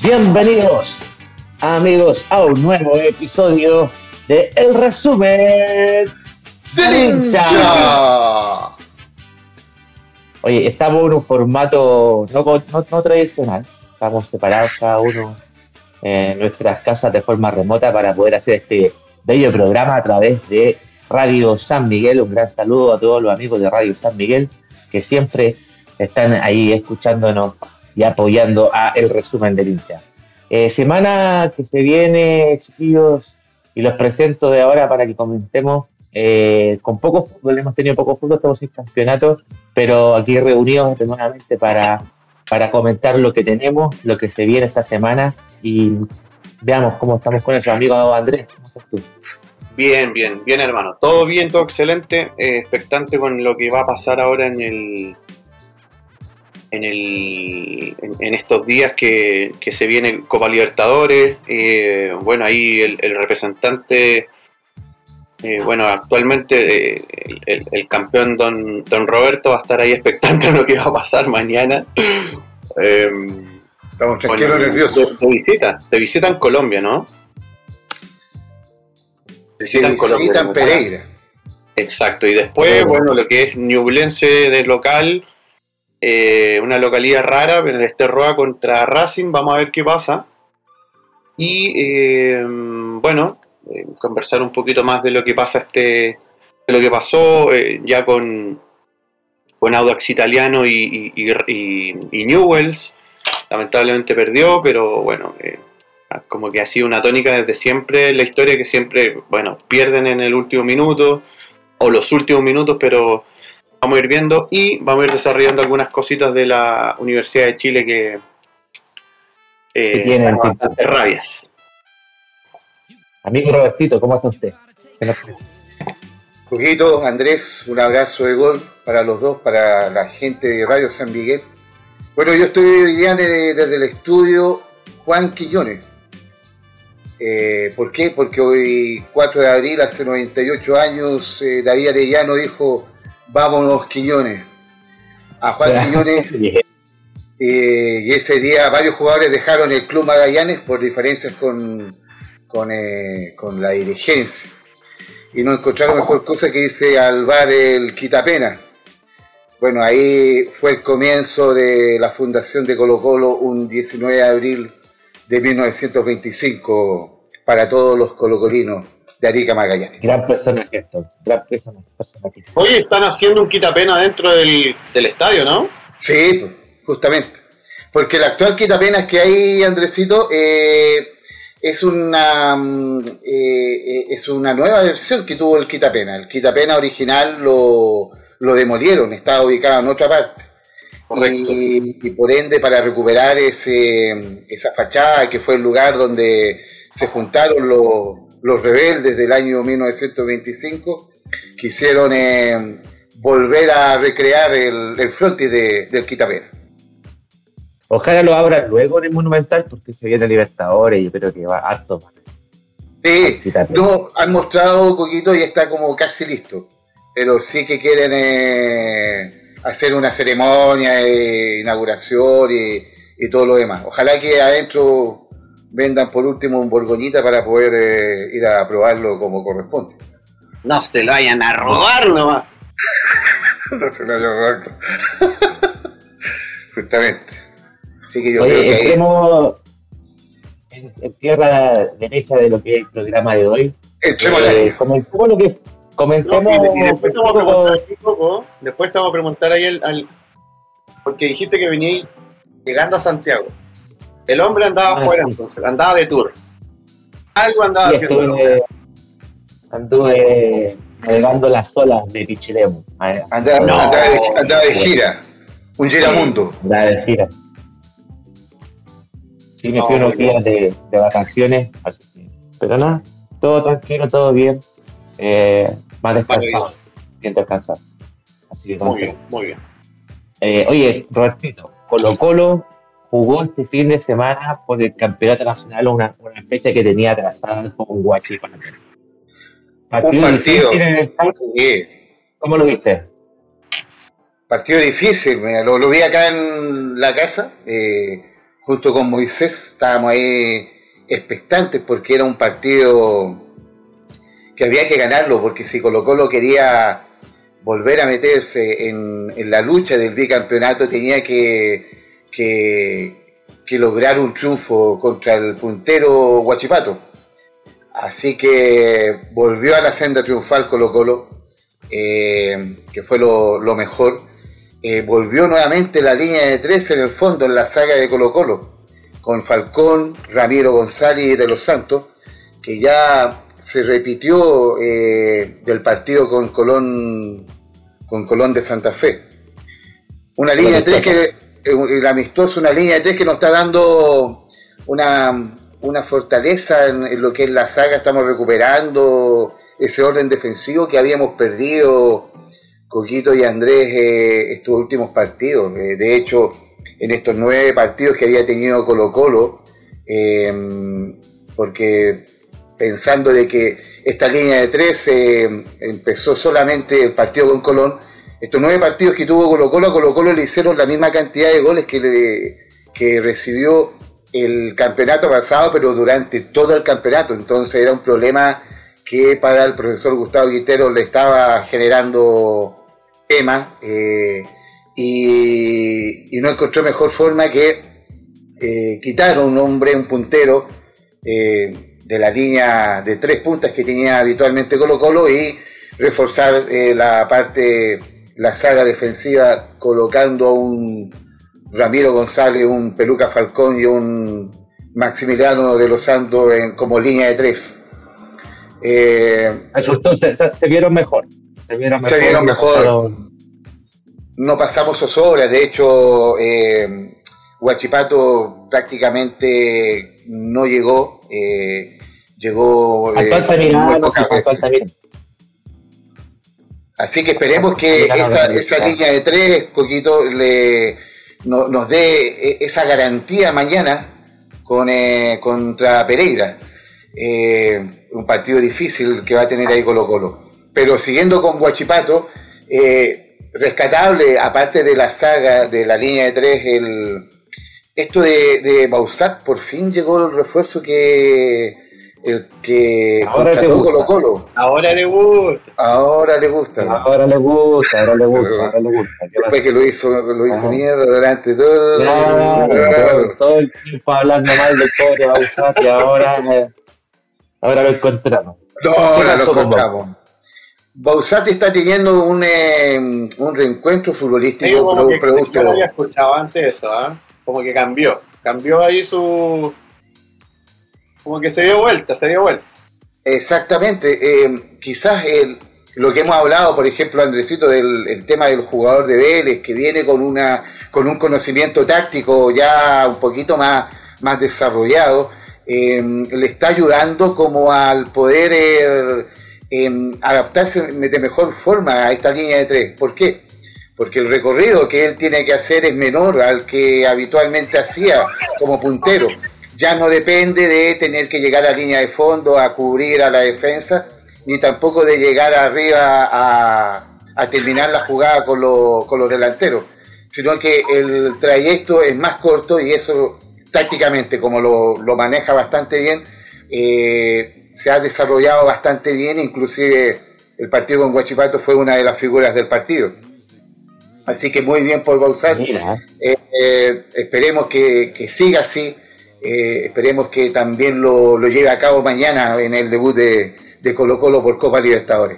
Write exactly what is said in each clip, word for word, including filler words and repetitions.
Bienvenidos, amigos, a un nuevo episodio de El Resumen del Hincha. Oye, estamos en un formato no, no, no tradicional. Estamos separados cada uno en nuestras casas de forma remota para poder hacer este bello programa a través de Radio San Miguel. Un gran saludo a todos los amigos de Radio San Miguel que siempre están ahí escuchándonos y apoyando a El Resumen del Hincha. Eh, semana que se viene, chiquillos, y los presento de ahora para que comentemos. Eh, con poco fútbol, hemos tenido poco fútbol, estamos sin campeonato, pero aquí reunidos nuevamente para, para comentar lo que tenemos, lo que se viene esta semana y veamos cómo estamos con nuestro amigo Andrés. ¿Cómo estás tú? Bien, bien, bien, hermano. Todo bien, todo excelente. Eh, expectante con lo que va a pasar ahora en el en el en, en estos días que, que se viene Copa Libertadores. Eh, bueno, ahí el, el representante. Eh, bueno, actualmente eh, el, el campeón don, don Roberto va a estar ahí expectante a lo que va a pasar mañana. Eh, Estamos tranquilos, bueno, nerviosos. Te, te visita, te visitan Colombia, ¿no? Te visitan Te Colombia. visitan Pereira. Exacto, y después, Oh. bueno, lo que es Ñublense de local, eh, una localidad rara, en el Esterroa contra Racing, vamos a ver qué pasa. Y eh, bueno, eh, conversar un poquito más de lo que pasa este, de lo que pasó eh, ya con, con Audax Italiano y, y, y, y Newell's. Lamentablemente perdió, pero bueno, eh, como que ha sido una tónica desde siempre en la historia, que siempre, bueno, pierden en el último minuto o los últimos minutos, pero vamos a ir viendo y vamos a ir desarrollando algunas cositas de la Universidad de Chile que eh, son bastante rabias. Amigo Robertito, ¿cómo está usted? Juguito, Andrés, un abrazo de gol para los dos, para la gente de Radio San Miguel. Bueno, yo estoy hoy día de, desde el estudio Juan Quiñones. Eh, ¿Por qué? Porque hoy, cuatro de abril, hace noventa y ocho años, eh, David Arellano dijo, vámonos Quiñones. A Juan Quiñones, eh, y ese día varios jugadores dejaron el Club Magallanes por diferencias con, con, eh, con la dirigencia. Y no encontraron mejor cosa que irse al bar El Quitapena. Bueno, ahí fue el comienzo de la fundación de Colo Colo un diecinueve de abril de mil novecientos veinticinco para todos los colocolinos de Arica Magallanes. Gran personaje estos, gran personaje. Oye, están haciendo un quitapena dentro del, del estadio, ¿no? Sí, pues, justamente. Porque el actual quitapenas que hay, Andresito, eh, es una eh, es una nueva versión que tuvo el quitapena. El quitapena original lo, lo demolieron, estaba ubicado en otra parte. Y, y por ende, para recuperar ese, esa fachada que fue el lugar donde se juntaron los, los rebeldes del año mil novecientos veinticinco, quisieron eh, volver a recrear el, el frontis de, del Quitapena. Ojalá lo abran luego en el Monumental, porque se viene Libertadores y yo creo que va harto. Sí, no, han mostrado Coquito y está como casi listo, pero sí que quieren eh, hacer una ceremonia de inauguración y, y todo lo demás. Ojalá que adentro vendan por último un Borgoñita para poder eh, ir a probarlo como corresponde. No se lo vayan a robar nomás. No se lo vayan a robar. Justamente. Así que yo Oye, creo que entremos en, en tierra derecha de lo que es el programa de hoy. Entremos eh, comentemos lo que comentemos. No, y, y después te vamos a preguntar un poco, después te vamos a preguntar ahí al, al porque dijiste que veníais llegando a Santiago. El hombre andaba ah, fuera, sí. entonces, andaba de tour. Algo andaba Sí, haciendo. estuve, anduve navegando las olas de Pichilemu. andaba, No. andaba, de, andaba de gira, un giramundo. Andaba de gira. Sí, me fui No, unos días de, de vacaciones, así que, pero nada, todo tranquilo, todo bien. Eh, más descansado, bien descansado. Así que Muy bien, muy bien. Eh, oye, Robertito, Colo Colo jugó este fin de semana por el Campeonato Nacional, una, una fecha que tenía atrasada con Huachipato. Un partido. En el Sí. ¿Cómo lo viste? Partido difícil, mira, lo, lo vi acá en la casa, eh, junto con Moisés, estábamos ahí expectantes porque era un partido que había que ganarlo, porque si Colo-Colo quería volver a meterse en, en la lucha del bicampeonato tenía que, que, que lograr un triunfo contra el puntero Huachipato. Así que volvió a la senda triunfal Colo-Colo, eh, que fue lo, lo mejor. Eh, volvió nuevamente la línea de tres en el fondo en la saga de Colo-Colo, con Falcón, Ramiro González y De Los Santos, que ya se repitió eh, del partido con Colón, con Colón de Santa Fe. Una línea de tres que, el amistoso, una línea de tres que nos está dando una, una fortaleza en, en lo que es la saga. Estamos recuperando ese orden defensivo que habíamos perdido Coquito y Andrés eh, estos últimos partidos. Eh, de hecho, en estos nueve partidos que había tenido Colo-Colo, eh, porque pensando de que esta línea de tres eh, empezó solamente el partido con Colón, estos nueve partidos que tuvo Colo-Colo, a Colo-Colo le hicieron la misma cantidad de goles que, le, que recibió el campeonato pasado, pero durante todo el campeonato. Entonces era un problema que para el profesor Gustavo Quintero le estaba generando temas, eh, y, y no encontró mejor forma que eh, quitar a un hombre, un puntero, eh, de la línea de tres puntas que tenía habitualmente Colo-Colo y reforzar eh, la parte, la saga defensiva, colocando a un Ramiro González, un Peluca Falcón y un Maximiliano de los Santos en, como línea de tres. Eh, Entonces, se, se vieron mejor. Se vieron mejor. Se vieron mejor. No pasamos zozobra. De hecho, eh, Huachipato prácticamente no llegó. Eh, llegó. Eh, Almirano, Así que esperemos que esa, esa línea de tres, Coquito, le, no, nos dé esa garantía mañana con, eh, contra Pereira. Eh, un partido difícil que va a tener ahí Colo-Colo. Pero siguiendo con Huachipato, eh, rescatable, aparte de la saga de la línea de tres, el, esto de, de Bausat, por fin llegó el refuerzo que el que ahora contrató Colo-Colo. Ahora le gusta. Ahora le gusta. Ahora le gusta, ahora le gusta, ahora le gusta. Después que lo hizo, lo hizo mierda durante todo, claro, todo, todo el tiempo hablando mal del pobre Bausat y ahora, eh, ahora lo encontramos. No, ahora lo encontramos. Bausat está teniendo un, eh, un reencuentro futbolístico. Sí, como que, producto. Yo no había escuchado antes eso, ¿eh? Como que cambió. Cambió ahí su... Como que se dio vuelta, se dio vuelta. Exactamente. Eh, quizás el, lo que hemos hablado, por ejemplo, Andresito, del el tema del jugador de Vélez, que viene con una con un conocimiento táctico ya un poquito más, más desarrollado, eh, le está ayudando como al poder eh, eh, adaptarse de mejor forma a esta línea de tres. ¿Por qué? Porque el recorrido que él tiene que hacer es menor al que habitualmente hacía como puntero. Ya no depende de tener que llegar a la línea de fondo a cubrir a la defensa, ni tampoco de llegar arriba a, a terminar la jugada con, lo, con los delanteros, sino que el trayecto es más corto y eso tácticamente, como lo, lo maneja bastante bien, eh, se ha desarrollado bastante bien. Inclusive el partido con Huachipato fue una de las figuras del partido. Así que muy bien por Bausat. Eh, eh, esperemos que, que siga así. Eh, esperemos que también lo, lo lleve a cabo mañana en el debut de, de Colo-Colo por Copa Libertadores.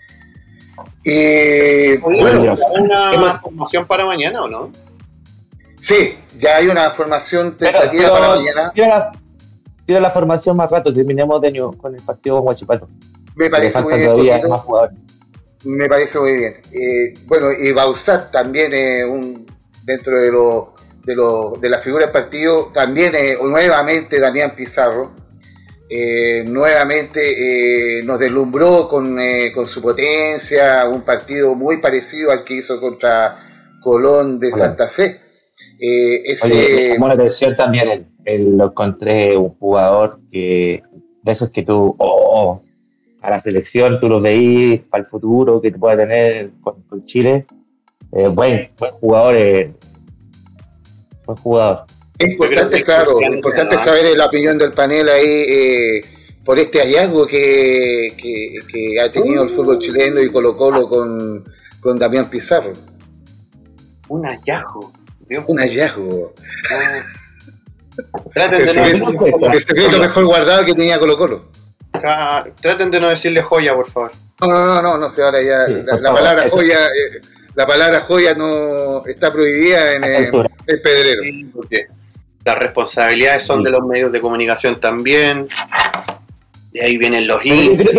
Y bueno, ¿hay una formación para mañana o no? Sí, ya hay una formación tentativa pero, pero, para mañana. Tira la, tira la formación más rato, terminemos de año con el partido con Huachipato. Me parece muy bien. Me parece muy bien. Eh, bueno, y Bausat también es un dentro de los De, lo, de la figura del partido, también eh, nuevamente Damián Pizarro, eh, nuevamente eh, nos deslumbró con, eh, con su potencia, un partido muy parecido al que hizo contra Colón de Santa Fe. Eh, ese... Oye, me llamó la atención también, el, el, lo encontré un jugador que de esos que tú, oh, a la selección tú lo veís para el futuro que te pueda tener con, con Chile, eh, buen, buen jugador, eh, buen jugador. Es importante, que claro, es es importante saber la opinión del panel ahí eh, por este hallazgo que, que, que ha tenido el fútbol chileno y Colo Colo con, con Damián Pizarro. Un hallazgo. Dios. Un hallazgo. Oh. Traten de el, no secreto, el secreto mejor guardado que tenía Colo Colo. Traten de no decirle joya, por favor. No, no, no, no, sé, ahora ya sí, la, la palabra eso. joya, eh, la palabra joya no está prohibida en eh, el pedrero. Sí, porque las responsabilidades son sí. de los medios de comunicación también. De ahí vienen los hinchas.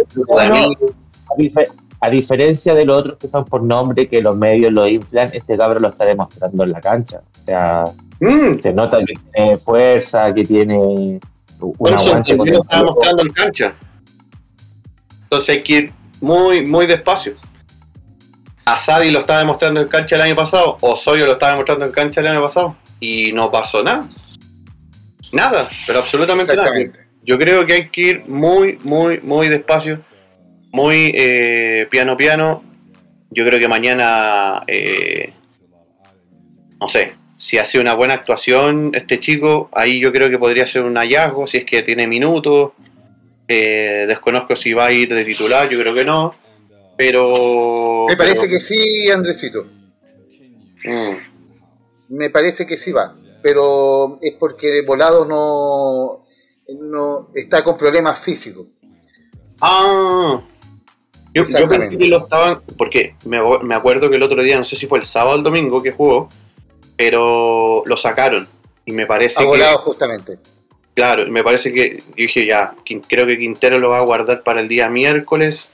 A diferencia de los otros que son por nombre, que los medios lo inflan, este cabrón lo está demostrando en la cancha. O sea, mm. se nota que tiene fuerza, que tiene un bueno, aguante. Con lo está demostrando en cancha. Entonces hay que ir muy, muy despacio. Asadi lo estaba demostrando en cancha el año pasado, Osorio lo estaba demostrando en cancha el año pasado, y no pasó nada. Nada, pero absolutamente nada. Yo creo que hay que ir muy, muy, muy despacio. Muy eh, piano piano. Yo creo que mañana, eh, no sé, si hace una buena actuación este chico, ahí yo creo que podría ser un hallazgo, si es que tiene minutos. Eh, desconozco si va a ir de titular, yo creo que no. Pero... Me parece pero... que sí, Andresito. Mm. Me parece que sí va. Pero es porque Volado no, no está con problemas físicos. Ah... Yo, yo pensé que lo estaban, porque me, me acuerdo que el otro día, no sé si fue el sábado o el domingo que jugó, pero lo sacaron y me parece ha volado que... justamente. Claro, me parece que, yo dije ya, creo que Quintero lo va a guardar para el día miércoles,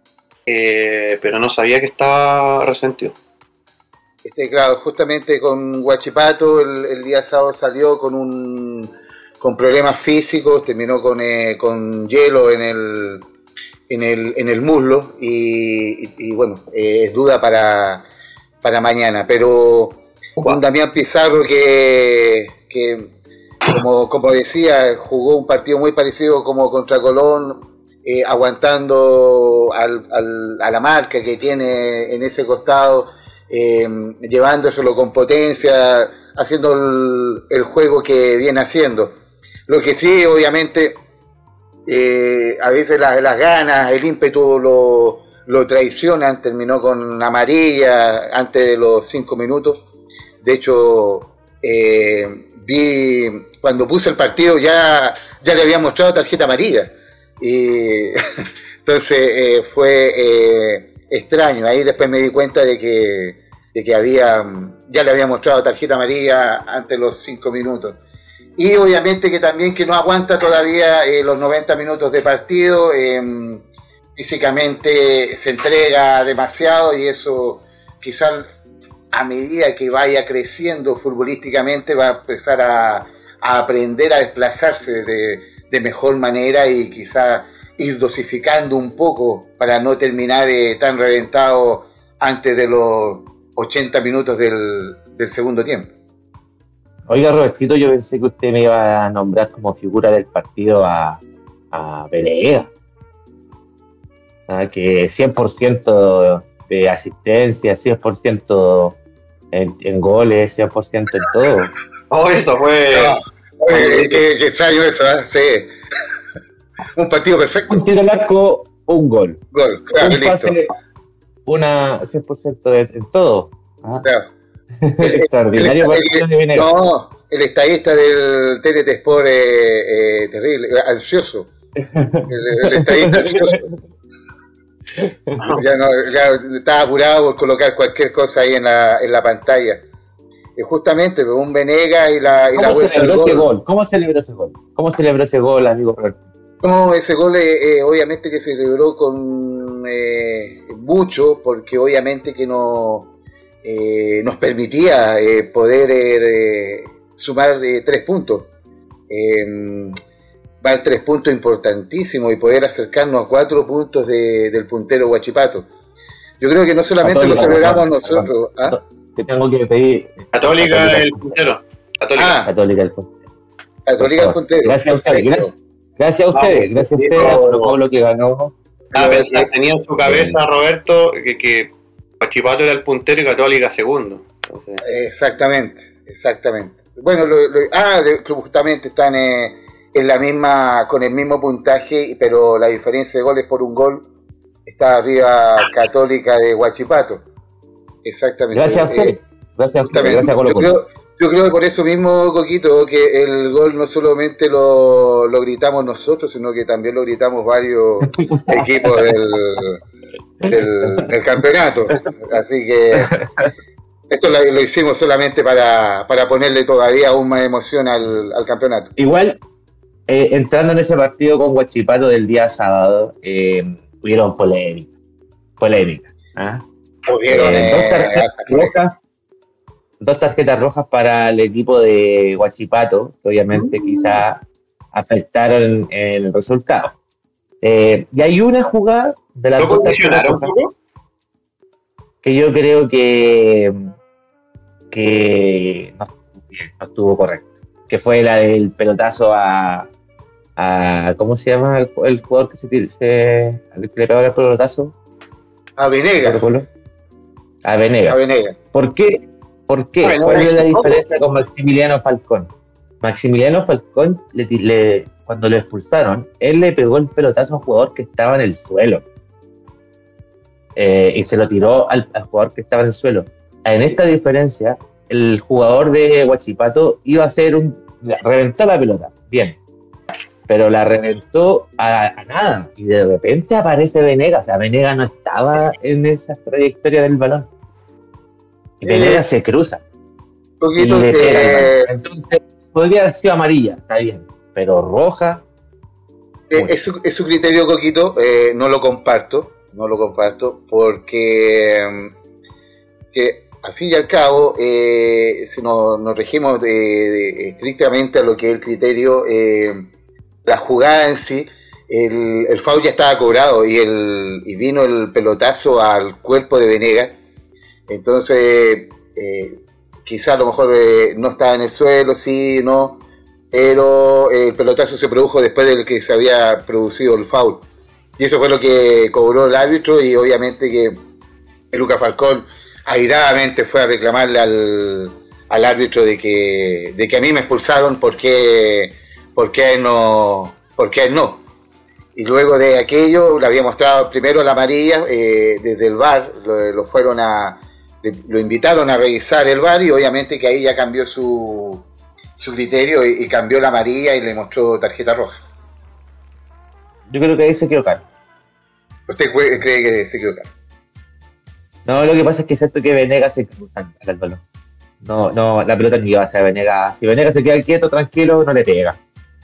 eh, pero no sabía que estaba resentido. Este, claro, justamente con Huachipato el, el día sábado salió con un con problemas físicos, terminó con, eh, con hielo en el... En el, en el muslo y, y, y bueno, eh, es duda para, para mañana, pero wow. Un Damián Pizarro que, que como, como decía, jugó un partido muy parecido como contra Colón, eh, aguantando al, al, a la marca que tiene en ese costado, eh, llevándoselo con potencia, haciendo el, el juego que viene haciendo. Lo que sí, obviamente... Eh, a veces las, las ganas, el ímpetu lo, lo traicionan, terminó con amarilla antes de los cinco minutos. De hecho, eh, vi cuando puse el partido ya, ya le había mostrado tarjeta amarilla. Y entonces eh, fue eh, extraño. Ahí después me di cuenta de que, de que había, ya le había mostrado tarjeta amarilla antes de los cinco minutos. Y obviamente que también que no aguanta todavía eh, los noventa minutos de partido, eh, físicamente se entrega demasiado y eso quizás a medida que vaya creciendo futbolísticamente va a empezar a, a aprender a desplazarse de, de mejor manera y quizás ir dosificando un poco para no terminar eh, tan reventado antes de los ochenta minutos del, del segundo tiempo. Oiga, Robertito, yo pensé que usted me iba a nombrar como figura del partido a, a Pereira. ¿Ah? Que cien por ciento de asistencia, cien por ciento en, en goles, cien por ciento en todo. Oh, eso fue... No, oye, qué, qué extraño eso, ¿eh? Sí. Un partido perfecto. Un tiro al arco, un gol. Gol, claro, un pase, listo. Una cien por ciento de, en todo. ¿Ah? Claro. Extraordinario el, el, el, el, no, el estadista del T N T Sport eh, eh, terrible, ansioso. El, el estadista ansioso. Ya, no, ya estaba apurado por colocar cualquier cosa ahí en la, en la pantalla. Y justamente un Venegas y la, y la vuelta al gol. gol. ¿Cómo celebró ese gol? ¿Cómo celebró ese gol, amigo Roberto? No, ese gol eh, obviamente que se celebró con eh, mucho, porque obviamente que no... Eh, nos permitía eh, poder eh, sumar eh, tres puntos. Eh, van tres puntos importantísimos y poder acercarnos a cuatro puntos de, del puntero Huachipato. Yo creo que no solamente Católica, lo celebramos nosotros. ¿Ah? Te tengo que pedir. Católica, Católica el puntero. Católica. Ah, Católica el puntero. Católica el puntero. Gracias a ustedes. Gracias, gracias a ustedes. Gracias a ustedes por lo, por lo que ganó. Ah, pensar, tenía en su cabeza, Roberto, que, que Huachipato era el puntero y Católica segundo. Entonces... Exactamente. Exactamente. Bueno, lo, lo, ah, de, justamente están eh, en la misma, con el mismo puntaje, pero la diferencia de goles por un gol está arriba Católica de Huachipato. Exactamente. Gracias a usted. Eh, gracias a usted. Gracias a Colo Colo. Yo creo, yo creo que por eso mismo, Coquito, que el gol no solamente lo, lo gritamos nosotros, sino que también lo gritamos varios equipos del, del, del campeonato. Así que esto lo, lo hicimos solamente para, para ponerle todavía aún más emoción al, al campeonato. Igual, eh, entrando en ese partido con Huachipato del día sábado, eh, hubieron polémica. Polémica. ¿ah? Hubieron eh, eh, dos tarjetas rojas. Dos tarjetas rojas para el equipo de Huachipato, que obviamente quizá afectaron el resultado. Eh, y hay una jugada de las ¿Lo dos tarjetas rojas que yo creo que, que no, no estuvo correcto, que fue la del pelotazo a, a ¿cómo se llama el, el jugador que se, se al que le pegó el pelotazo? A Venegas. A Venegas. A Venegas. ¿Por qué? ¿Por qué? Bueno, ¿Cuál es la poco. diferencia con Maximiliano Falcón? Maximiliano Falcón, le, le, cuando lo expulsaron, él le pegó el pelotazo a un jugador que estaba en el suelo. Eh, y se lo tiró al, al jugador que estaba en el suelo. En esta diferencia, el jugador de Huachipato iba a hacer un... reventó la pelota, bien. Pero la reventó a, a nada. Y de repente aparece Venegas. O sea, Venegas no estaba en esa trayectoria del balón. Y Venegas eh, se cruza. Poquito y le que... pega. Entonces, podría haber sido amarilla, está bien. Pero roja. Eh, es, su, es su criterio, Coquito. Eh, no lo comparto. No lo comparto. Porque. Que al fin y al cabo, eh, si nos, nos regimos de, de, estrictamente a lo que es el criterio, eh, la jugada en sí. El, el foul ya estaba cobrado. Y, el, y vino el pelotazo al cuerpo de Venegas. Entonces, eh, quizá a lo mejor eh, no estaba en el suelo, sí, no, pero el pelotazo se produjo después del que se había producido el foul. Y eso fue lo que cobró el árbitro y obviamente que Lucas Falcón airadamente fue a reclamarle al, al árbitro de que, de que a mí me expulsaron porque, porque a él no, porque a él no. Y luego de aquello le había mostrado primero la amarilla, eh, desde el V A R lo, lo fueron a... lo invitaron a revisar el V A R y obviamente que ahí ya cambió su, su criterio y, y cambió la amarilla y le mostró tarjeta roja. Yo creo que ahí se equivocaron. ¿Usted cree que se equivocaron? No, lo que pasa es que es cierto que Venegas se cruza al balón. No, no, la pelota no iba a ser Venegas. Si Venegas se queda quieto, tranquilo, no le pega.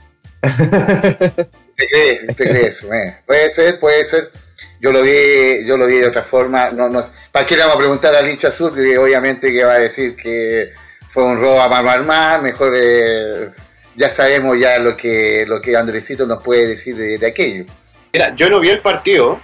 ¿Usted cree, usted cree eso? Eh? Puede ser, puede ser. Yo lo vi, yo lo vi de otra forma. No, no, ¿para qué le vamos a preguntar al hincha azul? Que obviamente que va a decir que fue un robo a mano armada. Mejor eh, ya sabemos ya lo que, lo que Andresito nos puede decir de, de aquello. Mira, yo no vi el partido.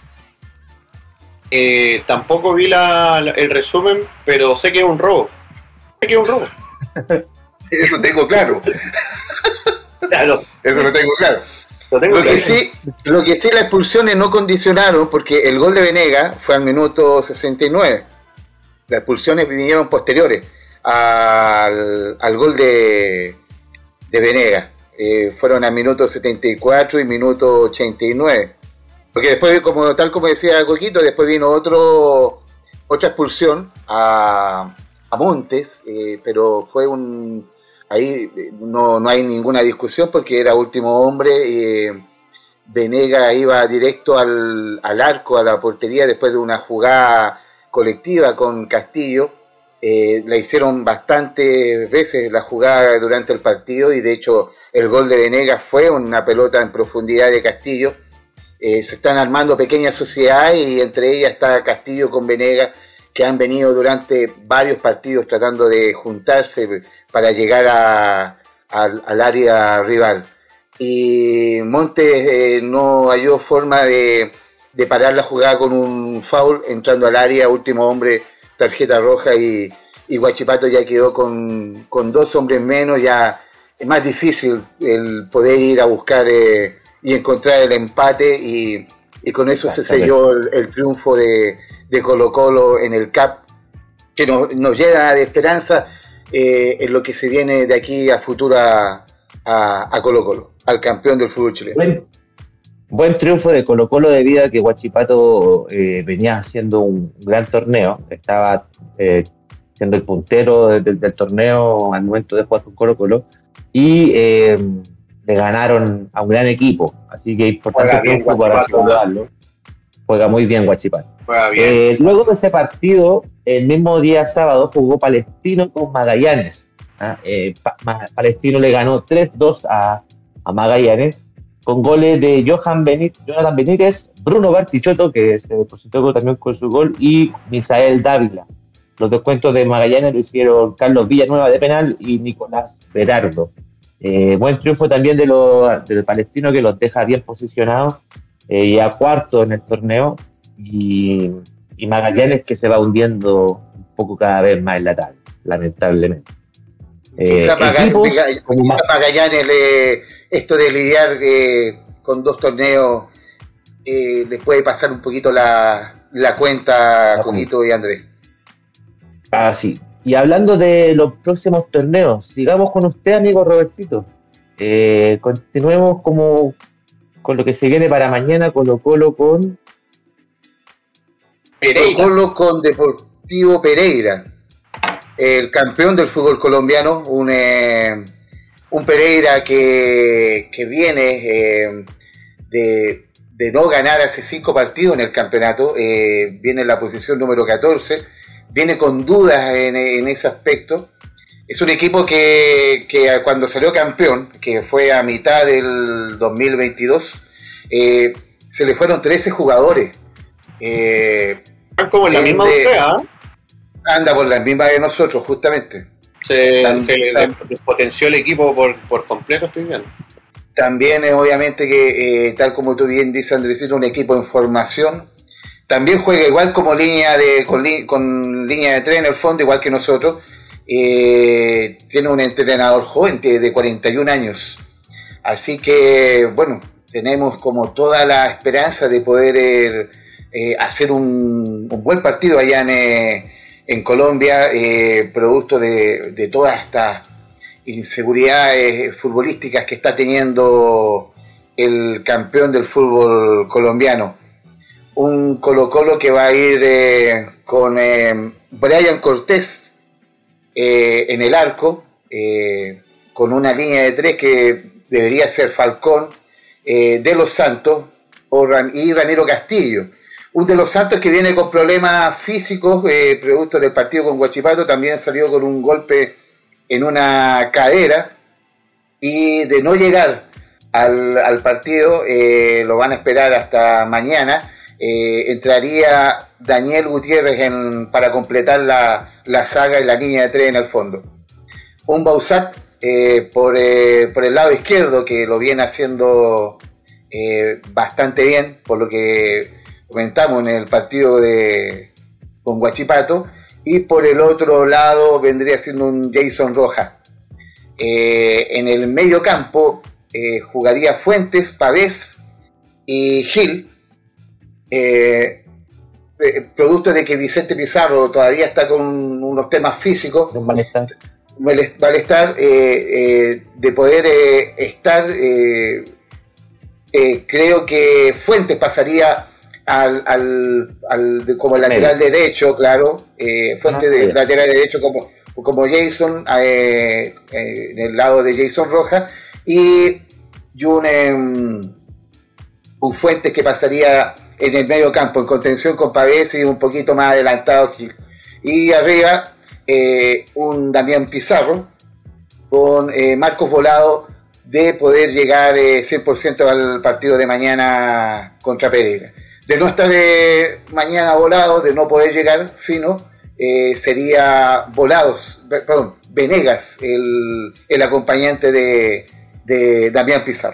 Eh, tampoco vi la, la, el resumen, pero sé que es un robo. Sé que es un robo. Eso tengo claro. Claro. Eso lo tengo claro. Lo, tengo lo, que sí, lo que sí las expulsiones no condicionaron, porque el gol de Venegas fue al minuto sesenta y nueve. Las expulsiones vinieron posteriores al, al gol de, de Venegas. Eh, fueron al minuto setenta y cuatro y minuto ochenta y nueve. Porque después, como tal como decía Coquito, después vino otro otra expulsión a, a Montes, eh, pero fue un... Ahí no, no hay ninguna discusión porque era último hombre. Eh, Venegas iba directo al, al arco, a la portería, después de una jugada colectiva con Castillo. Eh, la hicieron bastantes veces la jugada durante el partido y de hecho el gol de Venegas fue una pelota en profundidad de Castillo. Eh, se están armando pequeñas sociedades y entre ellas está Castillo con Venegas, que han venido durante varios partidos tratando de juntarse para llegar a, a, al área rival. Y Montes eh, no halló forma de, de parar la jugada con un foul entrando al área, último hombre, tarjeta roja y, y Huachipato ya quedó con, con dos hombres menos. Ya es más difícil el poder ir a buscar eh, y encontrar el empate y, y con eso se selló el, el triunfo de de Colo Colo en el C A P, que nos, nos llena de esperanza eh, en lo que se viene de aquí a futuro a, a, a Colo Colo, al campeón del fútbol chileno. Buen, buen triunfo de Colo Colo debido a que Huachipato eh, venía haciendo un gran torneo, estaba eh, siendo el puntero de, de, del torneo al momento de jugar con Colo Colo y eh, le ganaron a un gran equipo, así que importante triunfo para saludarlo. Juega muy bien Huachipato. Juega bien. Eh, luego de ese partido, el mismo día sábado jugó Palestino con Magallanes. ¿ah? Eh, pa- Ma- Palestino le ganó tres dos a, a Magallanes con goles de Johan Benítez, Jonathan Benítez, Bruno Bartichotto, que se depositó también con su gol, y Misael Dávila. Los descuentos de Magallanes lo hicieron Carlos Villanueva de penal y Nicolás Berardo. Eh, buen triunfo también de los, del Palestino, que los deja bien posicionados eh, y a cuarto en el torneo, y, y Magallanes que se va hundiendo un poco cada vez más en la tabla, lamentablemente. Eh, Quizá Maga- equipos Maga- como quizá Ma- Magallanes, le- esto de lidiar eh, con dos torneos, eh, le puede pasar un poquito la, la cuenta a La Coquito y Andrés. Ah, sí. Y hablando de los próximos torneos, sigamos con usted, amigo Robertito. Eh, continuemos como con lo que se viene para mañana, Colo Colo con... Colo Colo con Deportivo Pereira, el campeón del fútbol colombiano, un, eh, un Pereira que, que viene eh, de, de no ganar hace cinco partidos en el campeonato, eh, viene en la posición número catorce, viene con dudas en, en ese aspecto. Es un equipo que, que cuando salió campeón, que fue a mitad del dos mil veintidós, eh, se le fueron trece jugadores. Eh, Como en la de- misma de- usted, ¿ah? anda por la misma de nosotros, justamente. Se, Tam- se le tam- despotenció el equipo por, por completo, estoy viendo. También es obviamente que, eh, tal como tú bien dices, Andresito, un equipo en formación. También juega igual como línea de con, li- con línea de tres en el fondo, igual que nosotros. Eh, tiene un entrenador joven de, de cuarenta y un años. Así que, bueno, tenemos como toda la esperanza de poder eh, eh, hacer un, un buen partido allá en, eh, en Colombia, eh, producto de, de todas estas inseguridades futbolísticas que está teniendo el campeón del fútbol colombiano. Un Colo Colo que va a ir eh, con eh, Brian Cortés eh, en el arco, eh, con una línea de tres que debería ser Falcón, eh, De Los Santos o Ram- y Ramiro Castillo. Un De Los Santos que viene con problemas físicos, eh, producto del partido con Huachipato, también salió con un golpe en una cadera, y de no llegar al, al partido, eh, lo van a esperar hasta mañana. Eh, entraría Daniel Gutiérrez en, para completar la, la saga y la línea de tres en el fondo. Un Bausat eh, por, eh, por el lado izquierdo, que lo viene haciendo eh, bastante bien, por lo que comentamos en el partido de, con Huachipato, y por el otro lado vendría siendo un Jason Rojas. Eh, en el medio campo eh, jugaría Fuentes, Pavés y Gil. Eh, eh, producto de que Vicente Pizarro todavía está con unos temas físicos, un malestar. malestar, eh, eh, de poder eh, estar, eh, eh, creo que Fuentes pasaría al, al, al de- como lateral derecho, claro, eh, Fuentes Ah, de ya. lateral derecho como, como Jason, eh, eh, en el lado de Jason Rojas, y, y un, em, un Fuentes que pasaría en el medio campo, en contención con Pavés y un poquito más adelantado aquí. Y arriba, eh, un Damián Pizarro con eh, Marcos Volado, de poder llegar eh, cien por ciento al partido de mañana contra Pereira. De no estar eh, mañana Volado, de no poder llegar fino, eh, sería Volados, perdón, Venegas, el, el acompañante de, de Damián Pizarro.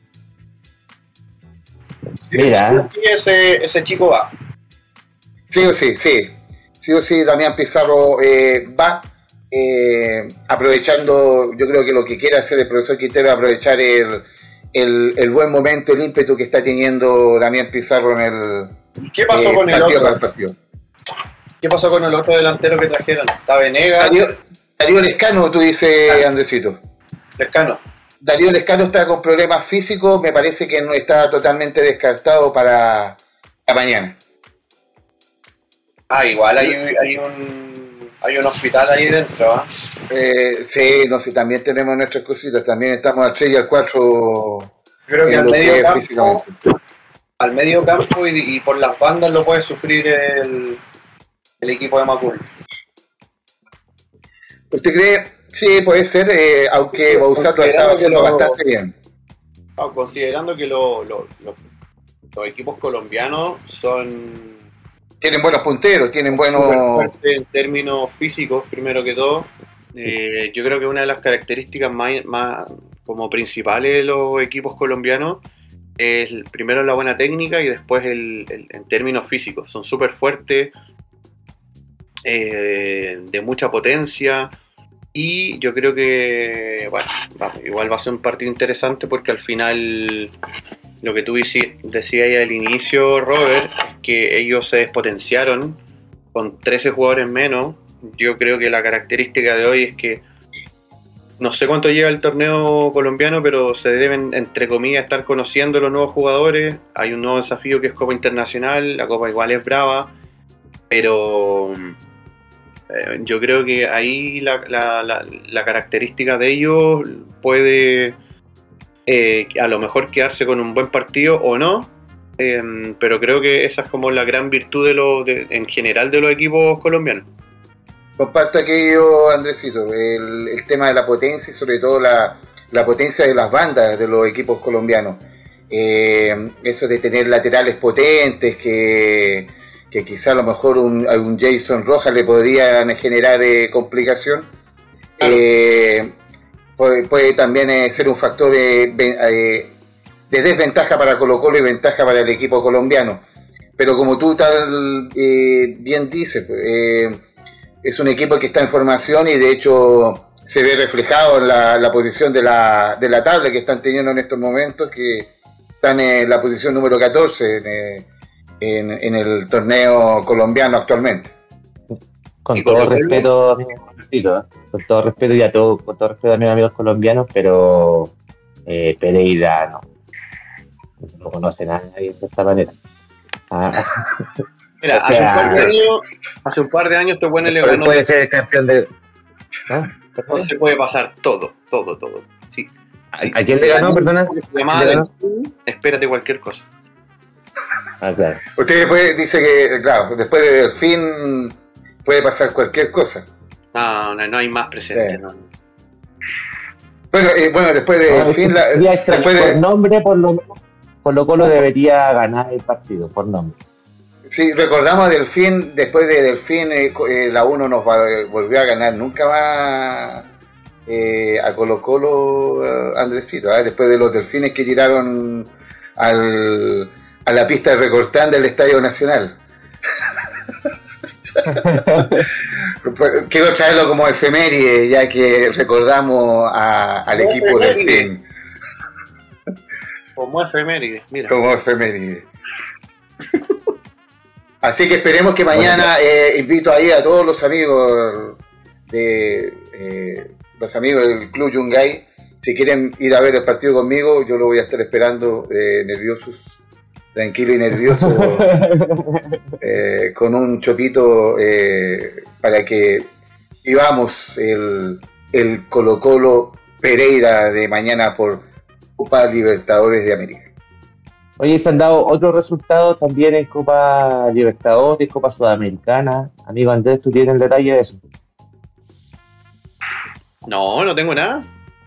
Mira. Sí, ese, ese chico va. Sí o sí, sí. Sí o sí, Damián Pizarro eh, va eh, aprovechando, yo creo que lo que quiere hacer el profesor Quintero es aprovechar el, el, el buen momento, el ímpetu que está teniendo Damián Pizarro en el, ¿Y qué pasó eh, con el partido otro? para el partido. ¿Qué pasó con el otro delantero que trajeron? ¿Está Venegas? Salió, Darío Lescano, tú dices, ah, Andresito. Lescano. Darío Lescano está con problemas físicos, me parece que no está totalmente descartado para, para mañana. Ah, igual hay, hay un hay un hospital ahí dentro, ¿eh? Eh, sí, no sé, también tenemos nuestras cositas, también estamos al tres y al cuatro. Creo que al medio campo, al medio campo y, y por las bandas lo puede sufrir el, el equipo de Macul. ¿Usted cree? Sí, puede ser, eh, aunque Bausat lo estaba haciendo lo, bastante bien. No, considerando que lo, lo, lo, los equipos colombianos son... Tienen buenos punteros, tienen buenos... En términos físicos, primero que todo, eh, yo creo que una de las características más, más como principales de los equipos colombianos es primero la buena técnica y después el, el, en términos físicos. Son súper fuertes, eh, de mucha potencia. Y yo creo que, bueno, va, igual va a ser un partido interesante porque al final, lo que tú decías ahí al inicio, Robert, es que ellos se despotenciaron con trece jugadores menos. Yo creo que la característica de hoy es que, no sé cuánto lleva el torneo colombiano, pero se deben, entre comillas, estar conociendo los nuevos jugadores. Hay un nuevo desafío que es Copa Internacional, la Copa igual es brava, pero... yo creo que ahí la, la, la, la característica de ellos puede eh, a lo mejor quedarse con un buen partido o no, eh, pero creo que esa es como la gran virtud de los de, en general de los equipos colombianos. Comparto aquello, Andresito, el, el tema de la potencia y sobre todo la, la potencia de las bandas de los equipos colombianos. Eh, eso de tener laterales potentes que... que quizá a lo mejor un, a un Jason Rojas le podrían generar eh, complicación, claro. eh, puede, puede también eh, ser un factor eh, eh, de desventaja para Colo-Colo y ventaja para el equipo colombiano. Pero como tú tal eh, bien dices, eh, es un equipo que está en formación y de hecho se ve reflejado en la, la posición de la, de la tabla que están teniendo en estos momentos, que están en la posición número catorce en, eh, En, en el torneo colombiano actualmente. Con todo respeto a mis amigos, ¿eh? con todo respeto y a todo, con todo respeto a mis amigos colombianos, pero eh, Pereira no, no conoce a nadie de esta manera. Ah. Mira, o sea, hace un par de años, hace un par de años este bueno le ganó. Puede ser campeón de. ¿No? No se puede pasar todo, todo, todo. Sí. ¿A, ¿a quién le ganó, perdona? Se llamaba del... Espérate cualquier cosa. Ah, claro. Usted después dice que, claro, después de Delfín puede pasar cualquier cosa. No, no, no hay más presente. Sí. No. Bueno, eh, bueno, después de no, Delfín... La, después de... Por nombre, por lo Colo-Colo debería ganar el partido, por nombre. Sí, recordamos a Delfín, después de Delfín eh, eh, la uno nos va, eh, volvió a ganar nunca más eh, a Colo-Colo, eh, Andresito, eh, después de los Delfines que tiraron al... a la pista de recortán del Estadio Nacional. Quiero traerlo como efeméride, ya que recordamos a, al como equipo del Delfín. Como efeméride, mira. Como efeméride. Así que esperemos que mañana eh, invito ahí a todos los amigos de eh, los amigos del Club Yungay. Si quieren ir a ver el partido conmigo, yo lo voy a estar esperando eh, nerviosos. Tranquilo y nervioso, eh, con un chopito eh, para que vivamos el, el Colo-Colo Pereira de mañana por Copa Libertadores de América. Oye, se han dado otros resultados también en Copa Libertadores, Copa Sudamericana. Amigo Andrés, ¿tú tienes el detalle de eso? No, no tengo nada.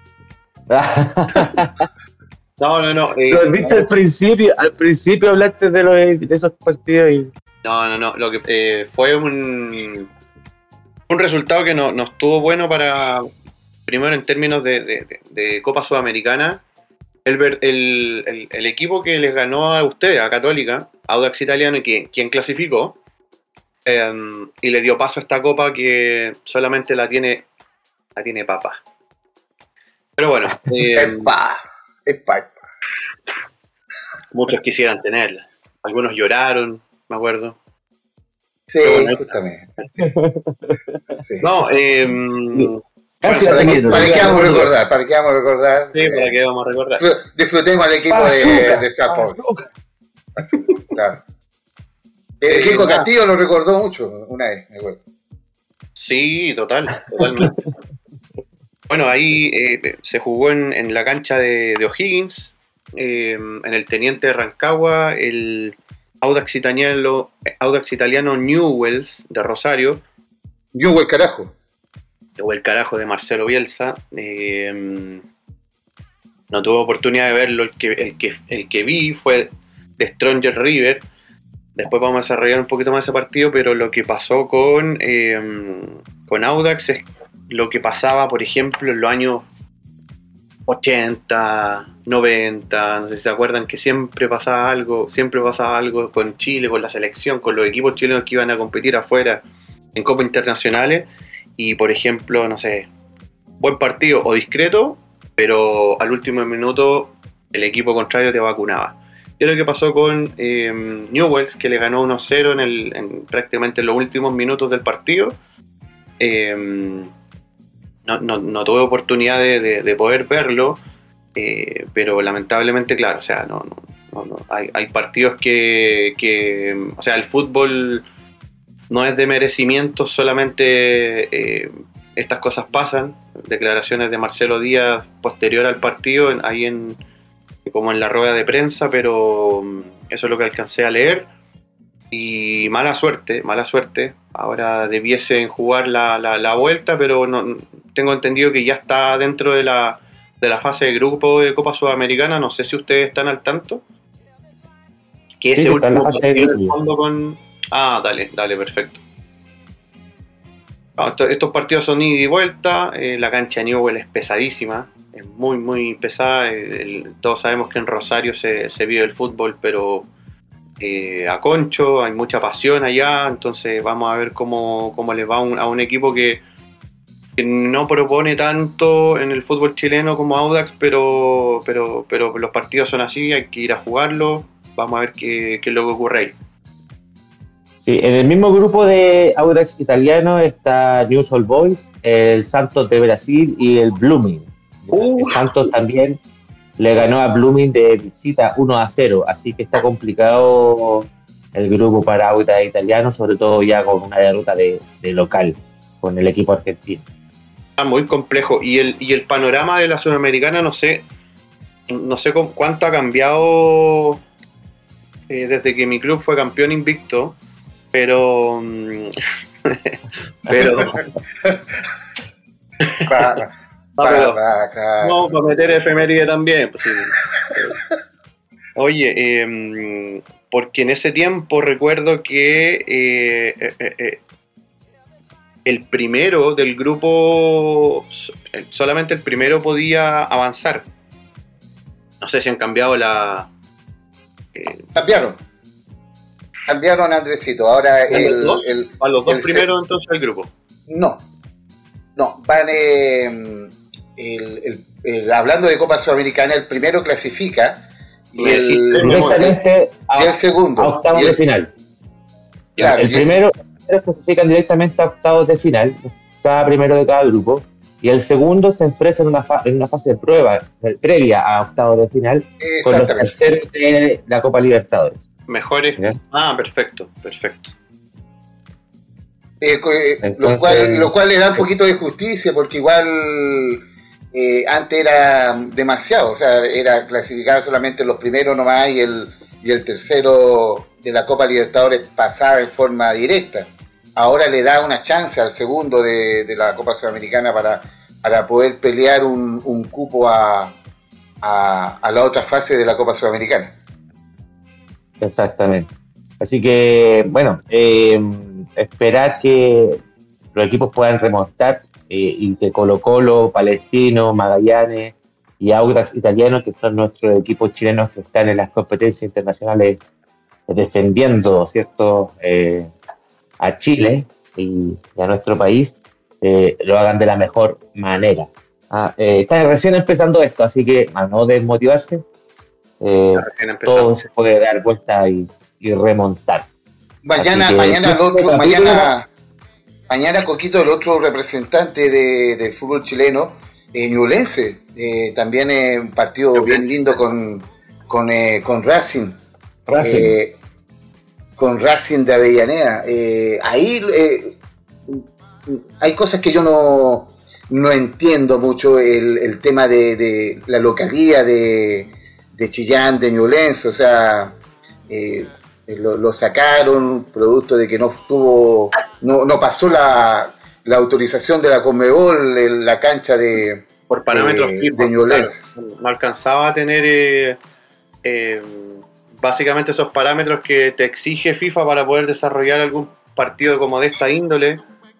No, no, no. Eh, lo has visto al principio, al principio hablaste de, los, de esos partidos y... No, no, no. Lo que eh, fue un, un resultado que no, no estuvo bueno para, primero en términos de, de, de Copa Sudamericana. El, el, el, el equipo que les ganó a ustedes, a Católica, Audax Italiano, y quien, quien clasificó, eh, y le dio paso a esta copa que solamente la tiene, la tiene Papa. Pero bueno. Eh, Epa. Muchos quisieran tenerla. Algunos lloraron, me acuerdo. Sí, bueno, justamente. Sí. No, eh, ¿para, para, qué, ¿Para qué vamos a recordar? ¿Para qué vamos a recordar? Sí, ¿para qué vamos a recordar? Disfrutemos al equipo de, de Sao Claro. El Kiko Castillo lo recordó mucho una vez, me acuerdo. Sí, total, totalmente. Bueno, ahí eh, se jugó en, en la cancha de, de O'Higgins, eh, en el Teniente de Rancagua, el Audax Italiano, Audax Italiano Newells de Rosario. Newell carajo. O el carajo de Marcelo Bielsa. Eh, no tuve oportunidad de verlo, el que, el que, el que vi fue de Stronger River. Después vamos a desarrollar un poquito más ese partido, pero lo que pasó con, eh, con Audax es lo que pasaba, por ejemplo, en los años ochenta, noventa, no sé si se acuerdan que siempre pasaba algo, siempre pasaba algo con Chile, con la selección, con los equipos chilenos que iban a competir afuera en copas internacionales, y por ejemplo, no sé, buen partido o discreto, pero al último minuto el equipo contrario te vacunaba. Y es lo que pasó con eh, Newells, que le ganó uno cero en, el, en prácticamente en los últimos minutos del partido. Eh, no, no, no tuve oportunidad de, de, de poder verlo, eh, pero lamentablemente, claro, o sea, no, no, no, no. Hay, hay partidos que, que, o sea, el fútbol no es de merecimiento, solamente eh, estas cosas pasan. Declaraciones de Marcelo Díaz posterior al partido, ahí en como en la rueda de prensa, pero eso es lo que alcancé a leer. Y mala suerte, mala suerte. Ahora debiesen jugar la, la, la vuelta, pero no, tengo entendido que ya está dentro de la, de la fase de grupo de Copa Sudamericana. No sé si ustedes están al tanto. Que sí, ese último partido del fondo con... Ah, dale, dale, perfecto. No, esto, estos partidos son ida y vuelta. Eh, la cancha de Newell es pesadísima. Es muy, muy pesada. El, todos sabemos que en Rosario se, se vive el fútbol, pero eh, a concho, hay mucha pasión allá. Entonces vamos a ver cómo, cómo les va a un, a un equipo que, que no propone tanto en el fútbol chileno como Audax, pero, pero, pero los partidos son así, hay que ir a jugarlos. Vamos a ver qué, qué es lo que ocurre ahí. Sí, en el mismo grupo de Audax Italiano está News All Boys, el Santos de Brasil y el Blooming. Uh. El Santos también le ganó a Blooming de visita uno a cero, así que está complicado el grupo para Audax Italiano, sobre todo ya con una derrota de, de local con el equipo argentino. Está muy complejo. Y el, y el panorama de la Sudamericana, no sé, no sé cuánto ha cambiado eh, desde que mi club fue campeón invicto, pero pero para, para, para, no, para meter efeméride también, pues, sí. Oye, eh, porque en ese tiempo recuerdo que eh, eh, eh, el primero del grupo, solamente el primero podía avanzar. No sé si han cambiado la... Eh, cambiaron. Cambiaron, Andresito. Ahora el, los dos, el, ¿a los dos el primeros entonces del grupo? No. No, van... Eh, el, el, el, hablando de Copa Sudamericana, el primero clasifica y el, directamente a, y el segundo. A octavos el, de final. Claro, el, el primero clasifican directamente a octavos de final, cada primero de cada grupo, y el segundo se enfrenta en una, fa- en una fase de prueba previa a octavos de final con los terceros de la Copa Libertadores. Mejores. ¿Ya? Ah, perfecto, perfecto. Eh, Entonces, lo, cual, lo cual le da un poquito de justicia, porque igual eh, antes era demasiado, o sea, era clasificado solamente los primeros nomás y el, y el tercero de la Copa Libertadores pasaba en forma directa. Ahora le da una chance al segundo de, de la Copa Sudamericana para, para poder pelear un, un cupo a, a, a la otra fase de la Copa Sudamericana. Exactamente. Así que, bueno, eh, esperar que los equipos puedan remontar eh, y que Colo Colo, Palestino, Magallanes y Audax Italiano, que son nuestros equipos chilenos que están en las competencias internacionales defendiendo, ¿cierto?, eh, a Chile y, y a nuestro país, eh, lo hagan de la mejor manera. Ah, eh, está recién empezando esto, así que a no desmotivarse, eh, todo se puede dar vuelta y, y remontar. Mañana, mañana el otro, mañana, mañana Coquito, el otro representante de, del fútbol chileno, eh, Ñublense, eh, también es un partido Ñublense. Bien lindo con, con, eh, con Racing, Racing. Eh, con Racing de Avellaneda. Eh, ahí eh, hay cosas que yo no, no entiendo mucho, el, el tema de, de la localía de, de Chillán, de Ñublense, o sea, eh, lo, lo sacaron producto de que no tuvo, no, no pasó la, la autorización de la Conmebol en la cancha de por parámetros de, FIFA, de Ñublense. Claro, no alcanzaba a tener eh, eh, básicamente esos parámetros que te exige FIFA para poder desarrollar algún partido como de esta índole.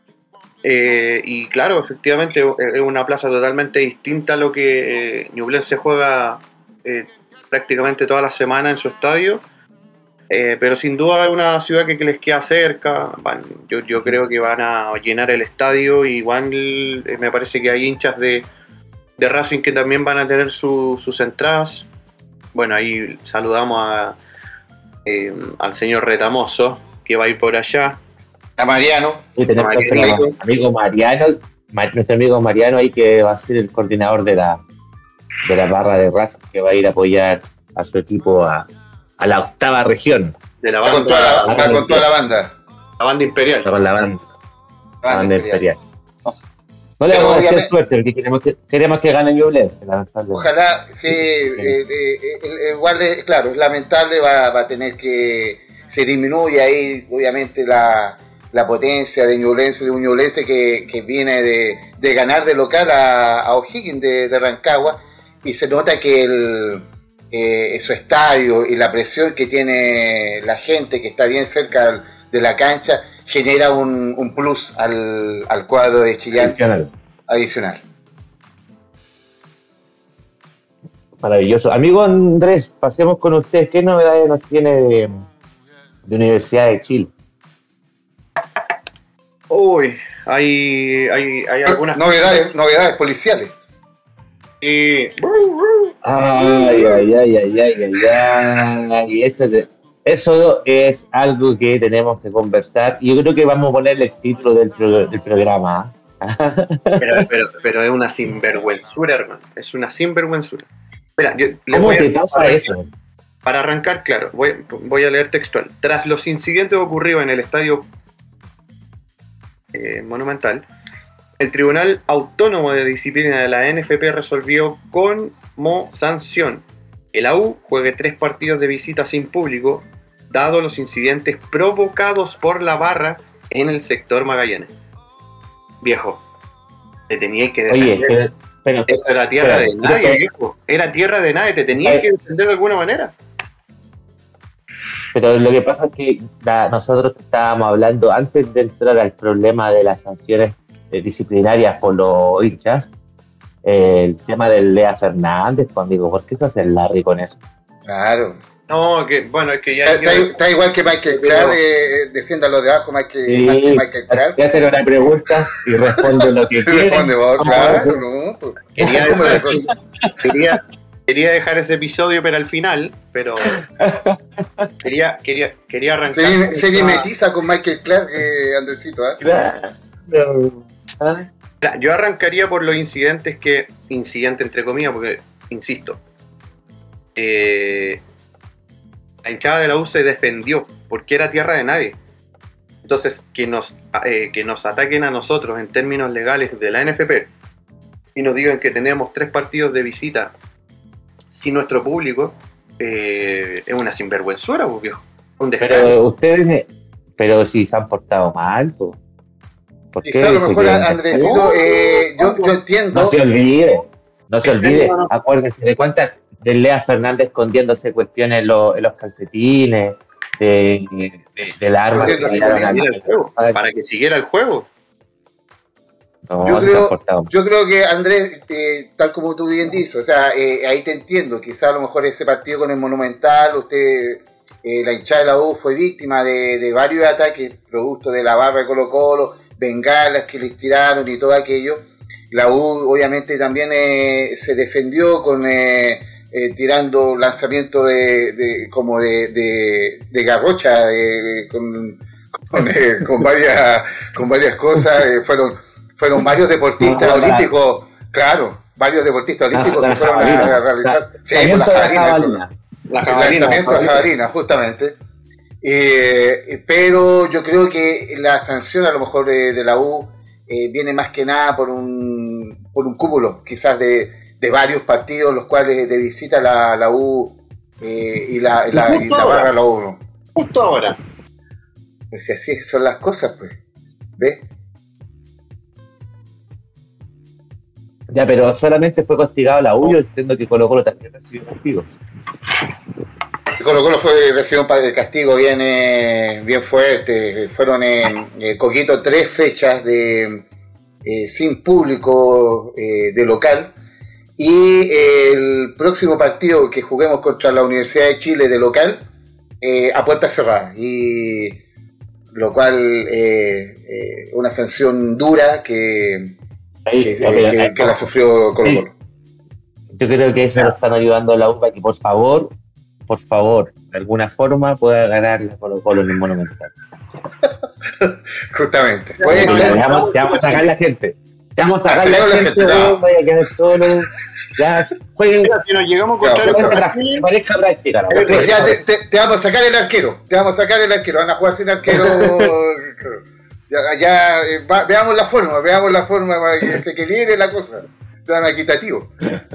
Eh, y claro, efectivamente es una plaza totalmente distinta a lo que eh, Ñublense juega eh, prácticamente toda la semana en su estadio. Eh, pero sin duda es una ciudad que, que les queda cerca. Van, yo, yo creo que van a llenar el estadio. Igual eh, me parece que hay hinchas de, de Racing que también van a tener su, sus entradas. Bueno, ahí saludamos a, eh, al señor Retamoso, que va a ir por allá. A Mariano. Sí, tenemos a Mariano. Amigo Mariano, Mar, nuestro amigo Mariano ahí, que va a ser el coordinador de la, de la barra de Racing, que va a ir a apoyar a su equipo a a la octava región. De la banda. Va con toda la, va con toda la banda. La banda imperial. Va con la banda. La banda, banda imperial. imperial. No le Pero vamos a hacer suerte, porque queremos que, queremos que gane Ñublense. Ojalá, sí, eh, eh, eh, igual, eh, claro, es lamentable, va, va a tener que, se disminuye ahí, obviamente, la, la potencia de Ñublense, de un Ñublense que, que viene de, de ganar de local a, a O'Higgins de, de Rancagua, y se nota que el Eh, su estadio y la presión que tiene la gente que está bien cerca de la cancha genera un, un plus al, al cuadro de Chillán adicional. adicional. Maravilloso. Amigo Andrés, pasemos con usted. ¿Qué novedades nos tiene de, de Universidad de Chile? Uy, hay, hay, hay algunas novedades, novedades policiales. Y... Ay, ay, ay, ay, ay, ay, ay. Eso, es, eso es algo que tenemos que conversar. Y yo creo que vamos a ponerle el título del, pro, del programa. pero, pero, pero es una sinvergüenzura, hermano. Es una sinvergüenzura. Espera, yo ¿Cómo voy te a, pasa para, eso? Para arrancar, claro, voy, voy a leer textual. Tras los incidentes ocurridos en el estadio eh, Monumental, el Tribunal Autónomo de Disciplina de la N F P resolvió como sanción que la U juegue tres partidos de visita sin público, dado los incidentes provocados por la barra en el sector Magallanes. Viejo, te tenías que defender. Oye, pero, pero, eso era tierra pero, de nadie, pero, viejo. Era tierra de nadie, te tenías que defender de alguna manera. Pero lo que pasa es que la, nosotros estábamos hablando, antes de entrar al problema de las sanciones eh, disciplinarias por los hinchas, eh, el tema del Lea Fernández, pues amigo, ¿por qué se hace el Larry con eso? Claro. No, que bueno, es que ya... Está, está, está igual que Michael Clark, eh, defienda lo de abajo, Michael, sí, Michael Clark. Voy a hacer una pregunta y responde lo que quiere. Responde vos, claro, no. Pues, quería, dejar, quería, quería dejar ese episodio pero al final, pero quería, quería, quería arrancar... Se, se mimetiza con Michael Clark, eh, Andresito, ¿eh? Claro. ¿Ah? Yo arrancaría por los incidentes que... Incidente entre comillas, porque, insisto... Eh, la hinchada de la U se defendió porque era tierra de nadie. Entonces, que nos, eh, que nos ataquen a nosotros en términos legales de la N F P y nos digan que tenemos tres partidos de visita sin nuestro público, eh, es una sinvergüenzura, pues, viejo. Un pero ustedes, pero si se han portado mal, pues. ¿Por qué? Quizá a lo mejor, Andresito, eh, yo, yo entiendo. No se olvide, no se olvide, acuérdense de cuántas. De Lea Fernández escondiéndose cuestiones en, lo, en los calcetines, de, de, de, de la arma que tiraron al juego, para que siguiera el juego. No, yo, creo, yo creo que Andrés, eh, tal como tú bien dices, o sea, eh, ahí te entiendo, quizá a lo mejor ese partido con el Monumental, usted, eh, la hinchada de la U fue víctima de, de varios ataques, producto de la barra de Colo Colo, bengalas que les tiraron y todo aquello. La U obviamente también eh, se defendió con... Eh, eh, tirando lanzamiento de, de como de, de, de garrocha, eh, con, con, eh, con, varias, con varias cosas. Eh, fueron, fueron varios deportistas No, olímpicos, claro, varios deportistas olímpicos la, la que fueron a, a realizar. La, sí, por la jabalina. La El lanzamiento de jabalina, justamente. Eh, pero yo creo que la sanción a lo mejor de, de la U eh, viene más que nada por un, por un cúmulo quizás de, de varios partidos los cuales de visita la, la U eh, y la, la, y la barra la U. Justo ahora. Pues si así son las cosas, pues. ¿Ves? Ya, pero solamente fue castigado la U, yo entiendo que Colo Colo también recibió castigo. Colo Colo fue, recibió un castigo bien, eh, bien fuerte. Fueron en eh, Coquito tres fechas de eh, sin público eh, de local. Y eh, el próximo partido que juguemos contra la Universidad de Chile de local, eh, a puerta cerrada. Y lo cual eh, eh, una sanción dura que, Ahí, que, okay, que, ahí, que la sufrió Colo Colo. Sí. Yo creo que eso lo están ayudando a la U para que por favor, por favor, de alguna forma pueda ganar la Colo Colo en el Monumental. Justamente. Puede ser. Te vamos, te vamos a sacar la gente. Te vamos a sacar la, la gente, no. Vaya a quedar solo. Ya, jueguen. Mira, si nos llegamos a encontrar en pareja práctica, ¿no? Eh, ya te, te, te vamos a sacar el arquero. Te vamos a sacar el arquero. Van a jugar sin arquero. ya, ya eh, va, veamos la forma, veamos la forma para que se equilibre la cosa. Tan equitativo.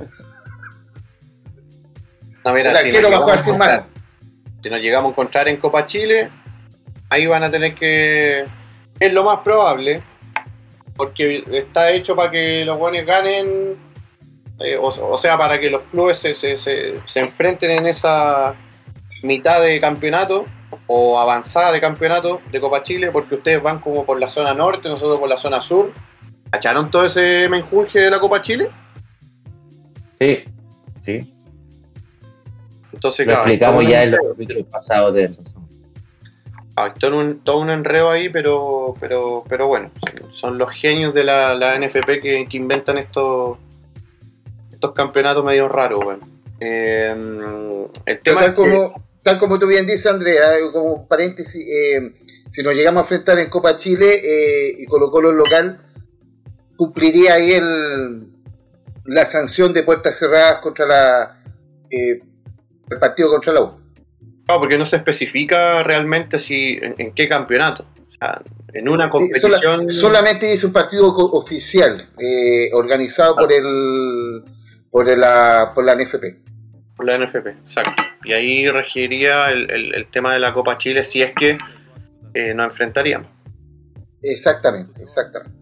No, mira, el si arquero va a jugar sin mano. Si nos llegamos a encontrar en Copa Chile, ahí van a tener que. Es lo más probable, porque está hecho para que los buenos ganen. Eh, o, o sea, para que los clubes se, se, se, se enfrenten en esa mitad de campeonato o avanzada de campeonato de Copa Chile, porque ustedes van como por la zona norte, nosotros por la zona sur. ¿Cacharon todo ese menjunje de la Copa Chile? Sí, sí. Entonces, lo claro, explicamos ya en los capítulos pasados de eso. Hay todo un, todo un enredo ahí, pero, pero, pero bueno, son los genios de la, la N F P que, que inventan estos estos campeonatos medio raros, bueno. Eh, el tema tal, como, que... tal como tú bien dices, Andrea, como paréntesis, eh, si nos llegamos a enfrentar en Copa Chile eh, y Colo Colo en local, cumpliría ahí el, la sanción de puertas cerradas contra la eh, el partido contra la U. No, porque no se especifica realmente si en, en qué campeonato. O sea, en una competición... Sola, solamente dice un partido oficial, eh, organizado ah. por el por la por la N F P. Por la N F P, exacto. Y ahí regiría el, el, el tema de la Copa Chile si es que eh, nos enfrentaríamos. Exactamente, exactamente.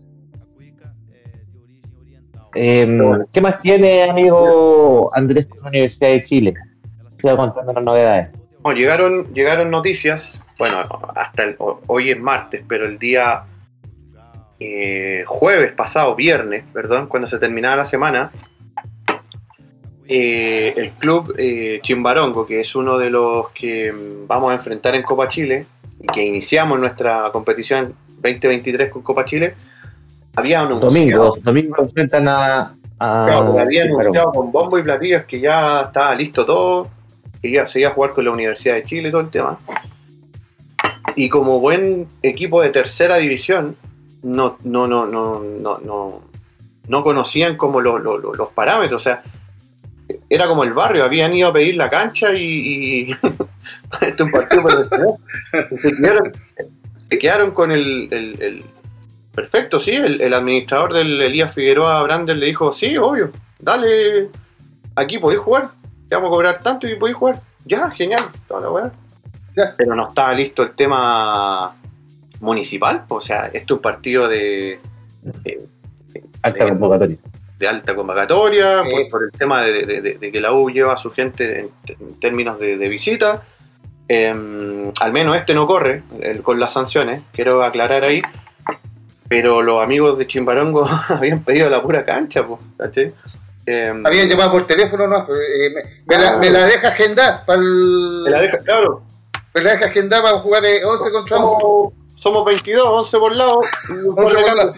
Eh, ¿Qué más tiene, amigo Andrés, con la Universidad de Chile? Siga contando las novedades. No, llegaron, llegaron noticias, bueno, hasta el, hoy es martes, pero el día eh, jueves pasado, viernes, perdón, cuando se terminaba la semana, eh, el club eh, Chimbarongo, que es uno de los que vamos a enfrentar en Copa Chile y que iniciamos nuestra competición veinte veintitrés con Copa Chile, había anunciado... Domingo, domingo enfrentan a... a claro, había anunciado con bombo y platillos que ya estaba listo todo, que ya se iba a jugar con la Universidad de Chile y todo el tema. Y como buen equipo de tercera división, no, no, no, no, no, no, no conocían como lo, lo, lo, los parámetros. O sea, era como el barrio, habían ido a pedir la cancha y, y este es un partido por el se quedaron, se quedaron con el, el, el perfecto, sí, el, el administrador del Elías Figueroa Brander le dijo, sí, obvio, dale, aquí podéis jugar. Te vamos a cobrar tanto y podéis jugar. Ya, genial, toda la weá. Pero no estaba listo el tema municipal. O sea, esto es un partido de, de, de alta de, convocatoria. De alta convocatoria, sí. por, por el tema de, de, de, de que la U lleva a su gente en, en términos de, de visita. Eh, al menos este no corre el, con las sanciones, quiero aclarar ahí. Pero los amigos de Chimbarongo habían pedido la pura cancha, pues, ¿sí? Eh, Habían llamado por teléfono, ¿no? Eh, me, me, ah, la, me la deja agendar para el... Me la deja, claro. Me la deja agendar para jugar eh, once contra once. Somos, somos veintidós, once por lado. once por lado.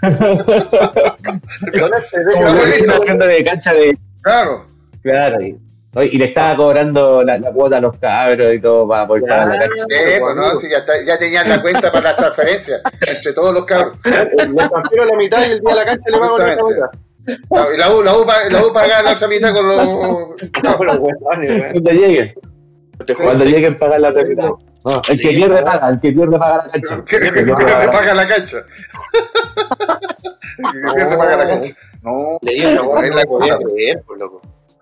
Con este, de agenda de cancha de... Claro. Claro. Y Oye, y le estaba cobrando la, la cuota a los cabros y todo para poder pagar la cancha. Eh, pues no, si ya, está, ya tenían la cuenta para la transferencia entre todos los cabros. Le transfiero la mitad y el día de la cancha le pago la otra mitad. No, y la U, la U, la U paga la otra mitad con los... No, los huevones, Cuando lleguen. Cuando lleguen pagar la otra mitad. No, el que pierde paga, el que pierde paga la cancha. El que pierde paga la cancha. El que pierde paga la cancha. No, leí esa hueá, no lo podía creer, por loco.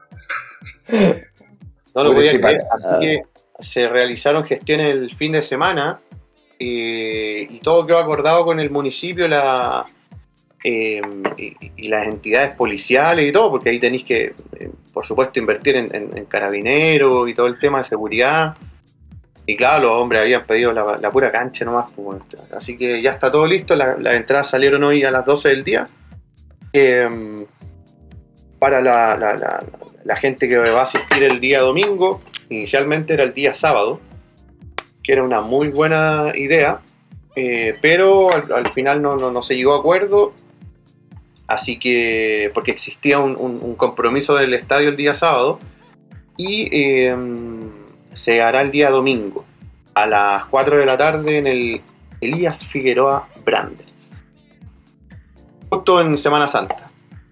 No lo podía creer. Así que se realizaron gestiones el fin de semana eh, y todo quedó acordado con el municipio, la... Eh, y, y las entidades policiales y todo, porque ahí tenéis que, eh, por supuesto, invertir en, en, en carabineros y todo el tema de seguridad. Y claro, los hombres habían pedido la, la pura cancha nomás. Pues, así que ya está todo listo. La, las entradas salieron hoy a las doce del día. Eh, para la, la, la, la gente que va a asistir el día domingo, inicialmente era el día sábado, que era una muy buena idea, eh, pero al, al final no, no, no se llegó a acuerdo. Así que, porque existía un, un, un compromiso del estadio el día sábado y eh, se hará el día domingo a las cuatro de la tarde en el Elías Figueroa Brander, justo en Semana Santa.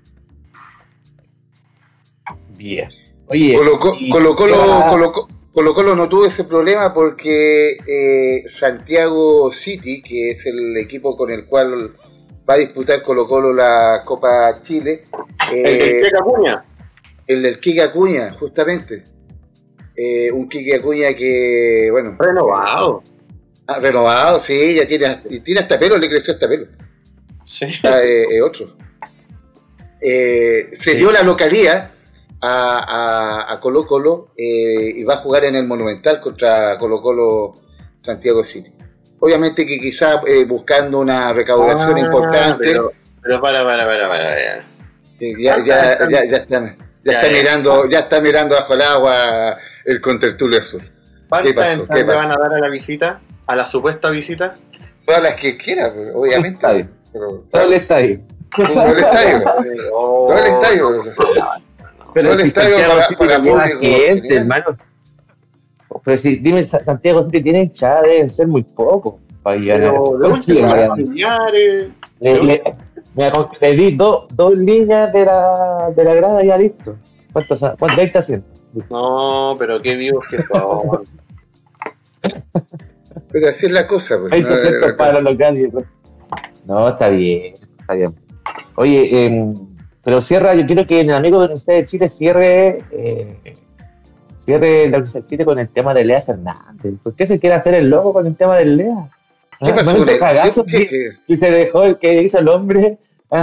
Bien. Oye, Colo Colo, Colo, Colo, Colo Colo no tuvo ese problema porque eh, Santiago City, que es el equipo con el cual va a disputar Colo Colo la Copa Chile. Eh, el del Quique Acuña. El del Quique Acuña, justamente. Eh, un Quique Acuña que, bueno... Renovado. Ah, renovado, sí, ya tiene, tiene hasta pelo, le creció hasta pelo. Sí. Ah, eh, eh, otro. Eh, se sí. dio la localía a, a, a Colo Colo eh, y va a jugar en el Monumental contra Colo Colo Santiago City. Obviamente que quizá eh, buscando una recaudación ah, importante. Pero, pero para, para, para, para. Ya, eh, ya, ya, ya, ya, están, ya, ya está ya, mirando, ya está mirando bajo el agua el Contertulio Azul. ¿Cuántas ¿Qué pasó? ¿Qué pasó? Van a dar a la visita? ¿A la supuesta visita? Todas las que quiera, obviamente. Todo el estadio. Todo el estadio. Todo el estadio. Pero todo el estadio para, para público. Gente, hermano. Pero si, dime, Santiago City tiene hinchada, deben ser muy pocos para llegar a familiares. Le, le, le, le di dos dos líneas de la, de la grada y ya listo. ¿Cuántos? ¿Cuántos? veinte haciendo. No, pero qué vivos que son. Pero así es la cosa. Pues, veinte por ciento no, para los locales. No, está bien, está bien. Oye, eh, pero cierra, yo quiero que el amigo de la Universidad de Chile cierre... Eh, cierre la Universidad de Chile con el tema de Lea Fernández. ¿Por qué se quiere hacer el loco con el tema de Lea? ¿Qué ¿Ah? pasó? ¿No cagazo que, que... Y se dejó el que hizo el hombre.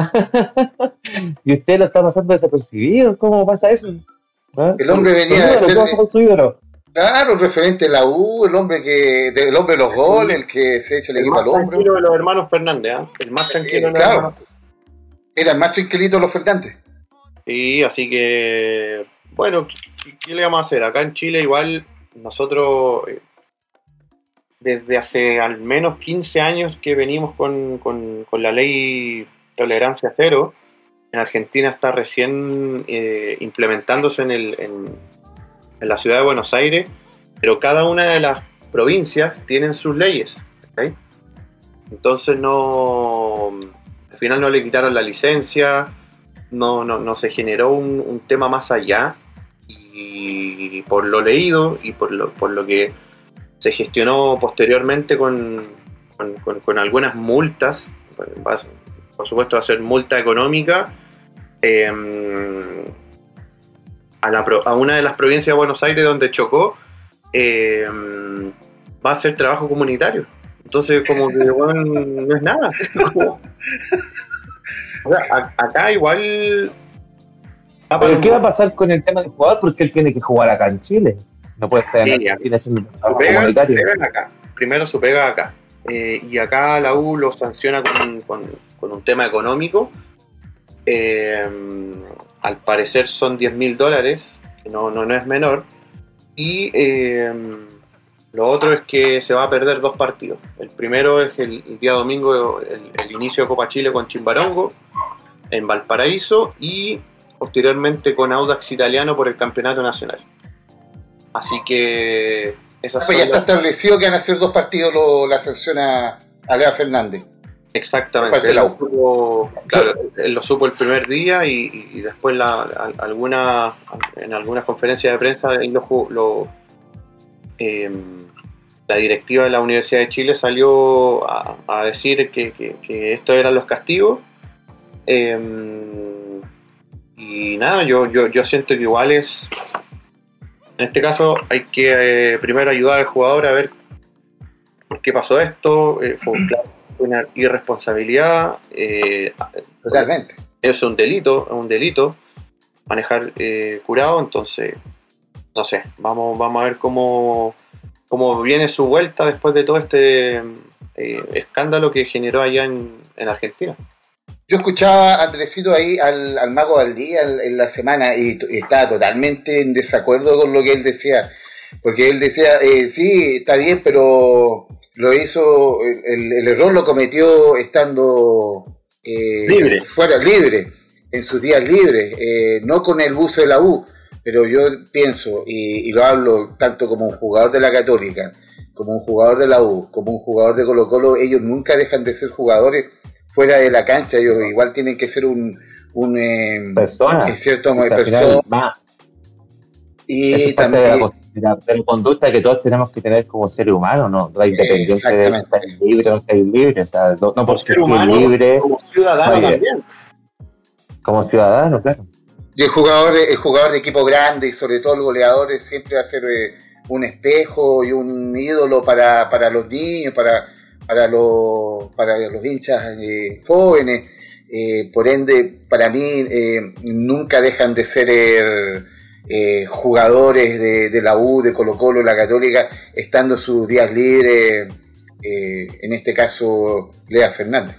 Y usted lo está pasando desapercibido. ¿Cómo pasa eso? ¿Ah? El hombre venía de ser... Claro, el referente de la U, el hombre que el hombre de los goles, el que se echa el, el equipo al hombro. El más tranquilo de los hermanos Fernández, ¿eh? El más tranquilo eh, de los claro. hermanos. Era el más tranquilito de los Fernández. Sí, así que... Bueno, ¿qué le vamos a hacer? Acá en Chile igual nosotros eh, desde hace al menos quince años que venimos con, con, con la ley tolerancia cero. En Argentina está recién eh, implementándose en, el, en, en la ciudad de Buenos Aires, pero cada una de las provincias tienen sus leyes, ¿okay? Entonces no, al final no le quitaron la licencia. No, no, no se generó un, un tema más allá y por lo leído y por lo, por lo que se gestionó posteriormente con, con, con, con algunas multas, por supuesto va a ser multa económica eh, a, la, a una de las provincias de Buenos Aires donde chocó, eh, va a ser trabajo comunitario. Entonces como que bueno, no es nada. O sea, acá igual... ¿Pero qué va a pasar con el tema del jugador? Porque él tiene que jugar acá en Chile. No puede estar sí, en Argentina haciendo trabajo comunitario. Su pega acá. Primero su pega acá. Eh, y acá la U lo sanciona con, con, con un tema económico. Eh, al parecer son diez mil dólares, que no, no, no es menor. Y eh, lo otro es que se va a perder dos partidos. El primero es el, el día domingo, el, el inicio de Copa Chile con Chimbarongo en Valparaíso, y posteriormente con Audax Italiano por el campeonato nacional. Así que esas Pues son ya está las... establecido que van a ser dos partidos lo, la sanción a, a Lea Fernández. Exactamente, él lo, supo, claro, él lo supo el primer día y, y después la, a, alguna, en algunas conferencias de prensa él lo, lo, eh, la directiva de la Universidad de Chile salió a, a decir que, que, que estos eran los castigos. Eh, y nada, yo, yo, yo siento que igual es, en este caso hay que eh, primero ayudar al jugador a ver por qué pasó esto. Eh, fue, claro, una irresponsabilidad, eh, totalmente. Es un delito, es un delito manejar eh, curado, entonces no sé, vamos, vamos a ver cómo, cómo viene su vuelta después de todo este eh, escándalo que generó allá en, en Argentina. Yo escuchaba a Andresito ahí al, al Mago Valdía en, en la semana y, y estaba totalmente en desacuerdo con lo que él decía, porque él decía, eh, sí, está bien, pero lo hizo, el, el error lo cometió estando eh, libre. fuera, libre, en sus días libres, eh, no con el buzo de la U, pero yo pienso, y, y lo hablo tanto como un jugador de la Católica, como un jugador de la U, como un jugador de Colo Colo, ellos nunca dejan de ser jugadores fuera de la cancha, ellos igual tienen que ser un, un eh, persona, es cierto, o sea, persona. Más. Y también de la, de, la, de la conducta que todos tenemos que tener como seres humanos, ¿no? La independencia de estar libre o no estar libre, o sea, no, no por ser humano, libre, como ciudadano oye, también. Como ciudadano, claro. Y el jugador, el jugador de equipo grande y sobre todo el goleador siempre va a ser eh, un espejo y un ídolo para, para los niños, para, para, los, para los hinchas eh, jóvenes. Eh, por ende, para mí eh, nunca dejan de ser eh, eh, jugadores de, de la U, de Colo Colo, la Católica, estando sus días libres, eh, en este caso Lea Fernández.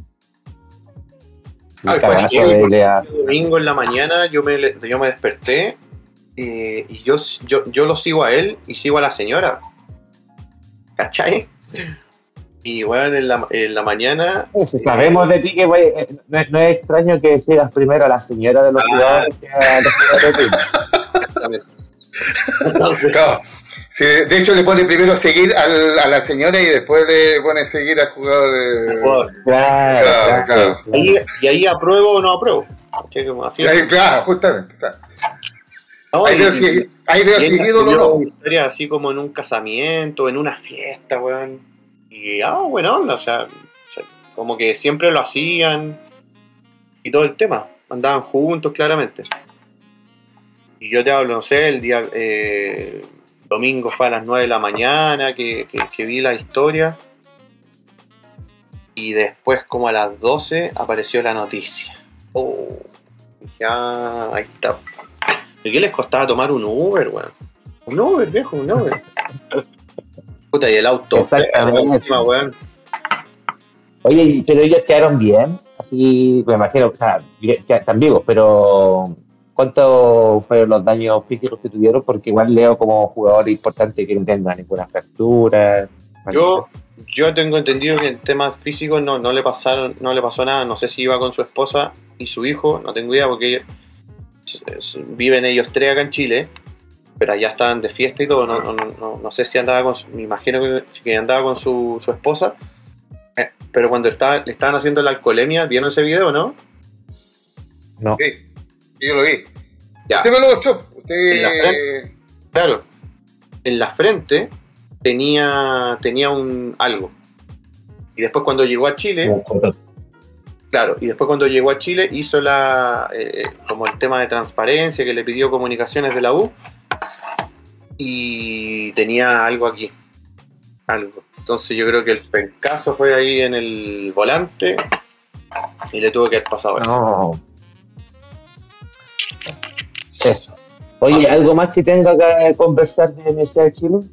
Ah, el Lea. Domingo en la mañana yo me, yo me desperté eh, y yo, yo, yo lo sigo a él y sigo a la señora, ¿cachai? Y bueno, en la, en la mañana... Pues, sabemos eh, de ti que wey, no, no es extraño que sigas primero a la señora de los ah, jugadores que a los jugadores de ti. Exactamente. Entonces, claro. Sí, de hecho le pone primero seguir al, a la señora y después le pone seguir al jugador. Eh, jugador. Claro, claro, claro. Ahí, y ahí apruebo o no apruebo. Así ahí, claro, justamente. Claro. No, ahí, y, veo si, ahí veo si ídolo o no. Historia así como en un casamiento, en una fiesta, weón. Y ah, bueno, o sea, o sea, como que siempre lo hacían y todo el tema. Andaban juntos, claramente. Y yo te hablo, no sé, el día eh, domingo fue a las nueve de la mañana que, que, que vi la historia. Y después, como a las doce, apareció la noticia. Oh, ya, ahí está. ¿Y qué les costaba tomar un Uber, weón? Un Uber, viejo, un Uber. Puta, y el auto. Exactamente. Weón. Oye, pero ellos quedaron bien. Así, me imagino, o sea, están vivos, pero ¿cuántos fueron los daños físicos que tuvieron? Porque igual leo como jugador importante que no tenga ninguna fractura. Yo, yo tengo entendido que en temas físicos no, no le pasaron, no le pasó nada. No sé si iba con su esposa y su hijo, no tengo idea porque ellos, viven ellos tres acá en Chile, pero allá estaban de fiesta y todo. No, no, no, no sé si andaba con, me imagino que, que andaba con su, su esposa. Eh, pero cuando estaba, le estaban haciendo la alcoholemia, ¿vieron ese video, no? No. Sí, yo lo vi. Ya. Usted me lo mostró. Usted... En la frente, claro. En la frente tenía, tenía un algo. Y después cuando llegó a Chile, claro, y después cuando llegó a Chile hizo la eh, como el tema de transparencia que le pidió comunicaciones de la U y tenía algo aquí. Algo. Entonces yo creo que el pencazo fue ahí en el volante y le tuvo que haber pasado eso. No. Eso. Oye, ah, ¿algo más que tenga que conversar de la Universidad de Chile?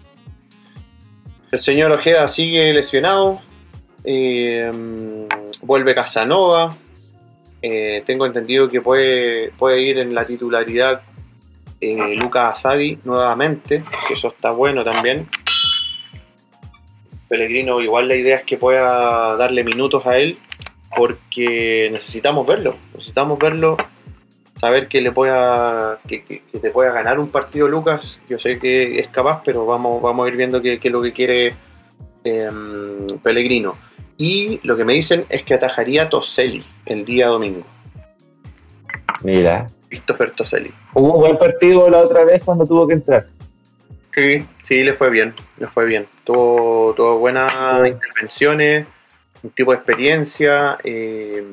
El señor Ojeda sigue lesionado. Eh, vuelve Casanova. Eh, tengo entendido que puede, puede ir en la titularidad eh, Lucas Asadi nuevamente, que eso está bueno también. Pellegrino, igual la idea es que pueda darle minutos a él porque necesitamos verlo, necesitamos verlo saber que le pueda que, que, que te pueda ganar un partido Lucas. Yo sé que es capaz, pero vamos, vamos a ir viendo qué es lo que quiere eh, Pellegrino. Y lo que me dicen es que atajaría a Toselli el día domingo. Mira. Christopher Toselli. Hubo buen partido la otra vez cuando tuvo que entrar. Sí, sí, le fue bien, le fue bien. Tuvo, tuvo buenas sí. intervenciones, un tipo de experiencia, eh,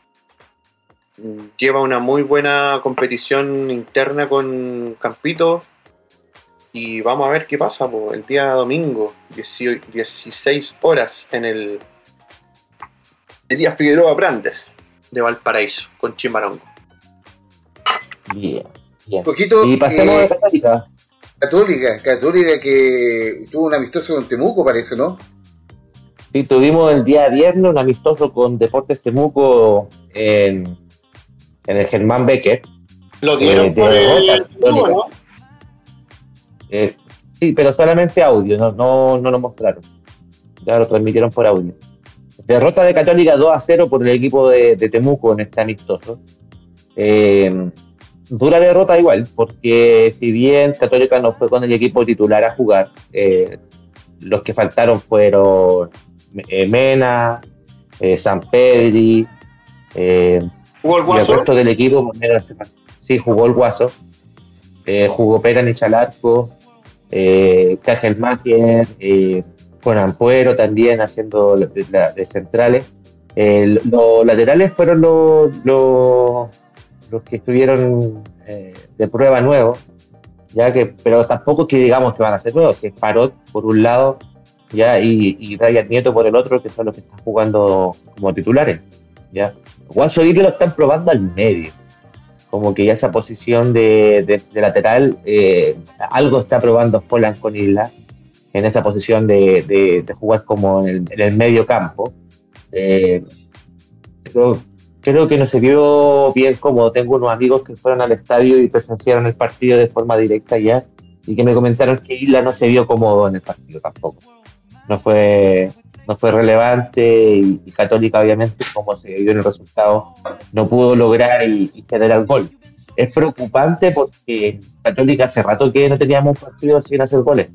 lleva una muy buena competición interna con Campito y vamos a ver qué pasa po, el día domingo, dieciséis horas en el Elías Figueroa Brandes de Valparaíso con Chimbarongo. Bien, bien. Poquito, y pasemos eh, a Católica. Católica, Católica que tuvo un amistoso con Temuco, parece, ¿no? Sí, tuvimos el día viernes un amistoso con Deportes Temuco en, en el Germán Becker. Lo dieron eh, por el tubo, ¿no? Eh, sí, pero solamente audio, no, no, no lo mostraron. Ya lo transmitieron por audio. Derrota de Católica dos a cero por el equipo de, de Temuco en este amistoso. Eh, dura derrota igual, porque si bien Católica no fue con el equipo titular a jugar, eh, los que faltaron fueron eh, Mena, eh, Sampedri, eh, ¿jugó el Guaso? Y el resto del equipo, sí, jugó el Guaso, eh, jugó Peranich al arco, eh, Cajel Magier, eh, con Ampuero también haciendo de, de, de centrales. Eh, los laterales fueron los, los, los que estuvieron eh, de prueba nuevos, ya que, pero tampoco que digamos que van a ser nuevos, si es Parot por un lado ya y, y Ryan Nieto por el otro, que son los que están jugando como titulares. Ya. Guaso y lo están probando al medio, como que ya esa posición de, de, de lateral, eh, algo está probando Holland con Isla en esta posición de, de, de jugar como en el, en el medio campo. Eh, creo, creo que no se vio bien cómodo. Tengo unos amigos que fueron al estadio y presenciaron el partido de forma directa ya, y que me comentaron que Isla no se vio cómodo en el partido tampoco. No fue, no fue relevante y, y Católica, obviamente, como se vio en el resultado, no pudo lograr y, y generar gol. Es preocupante porque Católica hace rato que no teníamos un partido sin hacer goles.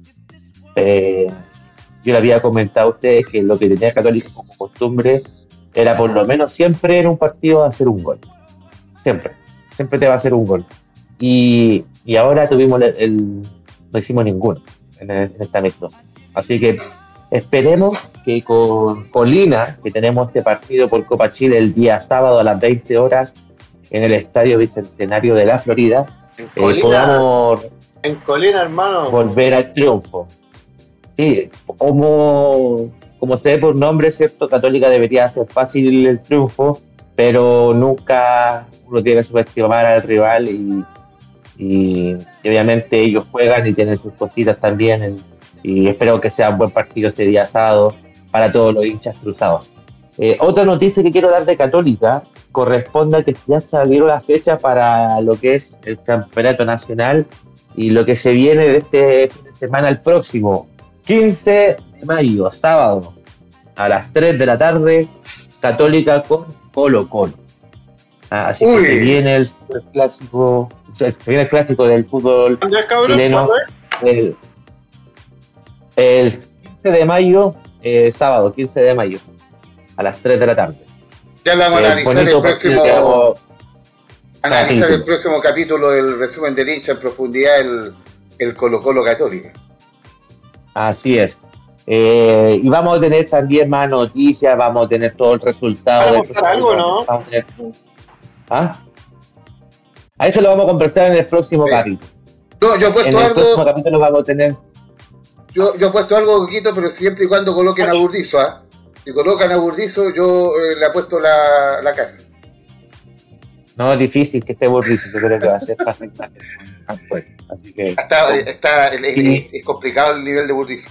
Eh, yo le había comentado a ustedes que lo que tenía Católica como costumbre era por lo menos siempre en un partido hacer un gol. Siempre, siempre te va a hacer un gol. Y, y ahora tuvimos el, el, no hicimos ninguno en, el, en esta amistosa. Así que esperemos que con Colina, que tenemos este partido por Copa Chile el día sábado a las veinte horas en el Estadio Bicentenario de la Florida, en Colina, eh, podamos en Colina, hermano, volver al triunfo. Sí, como, como se ve por nombre, ¿cierto? Católica debería ser fácil el triunfo, pero nunca uno tiene que subestimar al rival y, y, y obviamente ellos juegan y tienen sus cositas también en, y espero que sea un buen partido este día sábado para todos los hinchas cruzados. Eh, otra noticia que quiero dar de Católica corresponde a que ya salieron las fechas para lo que es el campeonato nacional y lo que se viene de este fin de semana al próximo, quince de mayo, sábado, a las tres de la tarde, Católica con Colo Colo. Ah, así Uy. que se viene el, el clásico, se viene el clásico del fútbol chileno. El, el quince de mayo, eh, sábado, quince de mayo, a las tres de la tarde. Ya lo vamos a analizar el próximo, analizar el próximo capítulo del resumen del hincha en profundidad, el, el Colo Colo Católica. Así es. Eh, y vamos a tener también más noticias, vamos a tener todo el resultado. ¿Vamos a mostrar algo, no? Vamos a tener... ¿Ah? A eso lo vamos a conversar en el próximo sí. capítulo. No, yo he puesto en el algo... próximo capítulo vamos a tener... Yo, yo he puesto algo, Coquito, pero siempre y cuando coloquen a Burdizo, ¿ah? ¿eh? Si colocan a Burdizo, yo eh, le apuesto la, la casa. No, es difícil que esté Burdizo, yo creo que va a ser fácil. Así que... Está, está, es, sí. es complicado el nivel de Burdizo.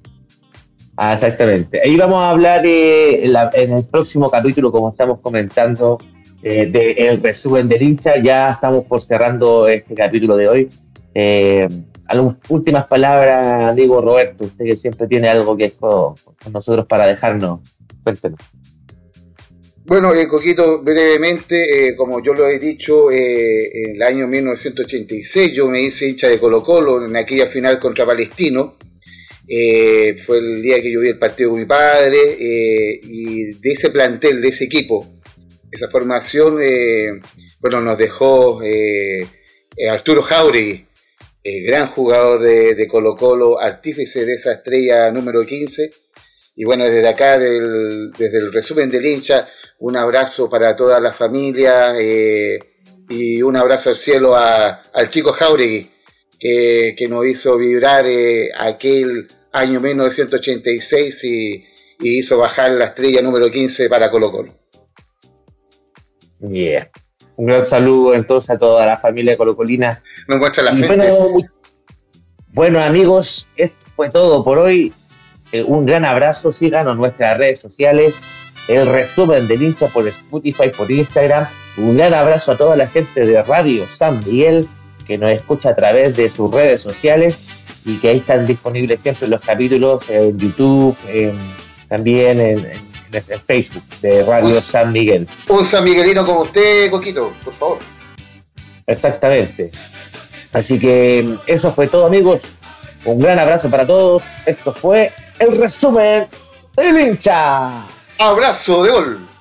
Ah, exactamente. Ahí vamos a hablar eh, en, la, en el próximo capítulo, como estamos comentando, eh, del resumen del hincha. Ya estamos por cerrando este capítulo de hoy. Eh, algunas últimas palabras, digo, Roberto, usted que siempre tiene algo que es con, con nosotros para dejarnos. Cuéntenos. Bueno, eh, Coquito, brevemente, eh, como yo lo he dicho, eh, en el año mil novecientos ochenta y seis yo me hice hincha de Colo-Colo en aquella final contra Palestino. Eh, fue el día que yo vi el partido con mi padre, eh, y de ese plantel, de ese equipo, esa formación, eh, bueno, nos dejó eh, eh, Arturo Jáuregui, el gran jugador de, de Colo-Colo, artífice de esa estrella número quince. Y bueno, desde acá, del, desde el resumen del hincha, un abrazo para toda la familia, eh, y un abrazo al cielo a, al chico Jáuregui, que, que nos hizo vibrar eh, aquel año mil novecientos ochenta y seis y, y hizo bajar la estrella número quince para Colo-Colo. Yeah. Un gran saludo entonces a toda la familia colocolina. Nos muestra la y gente. Bueno, bueno, amigos, esto fue todo por hoy. Eh, un gran abrazo, síganos en nuestras redes sociales, el resumen del hincha por Spotify, por Instagram. Un gran abrazo a toda la gente de Radio San Miguel que nos escucha a través de sus redes sociales y que ahí están disponibles siempre los capítulos en YouTube, en, también en, en, en Facebook de Radio un, San Miguel. Un San Miguelino como usted, Coquito, por favor. Exactamente. Así que eso fue todo, amigos. Un gran abrazo para todos. Esto fue el resumen del hincha. Abrazo de gol.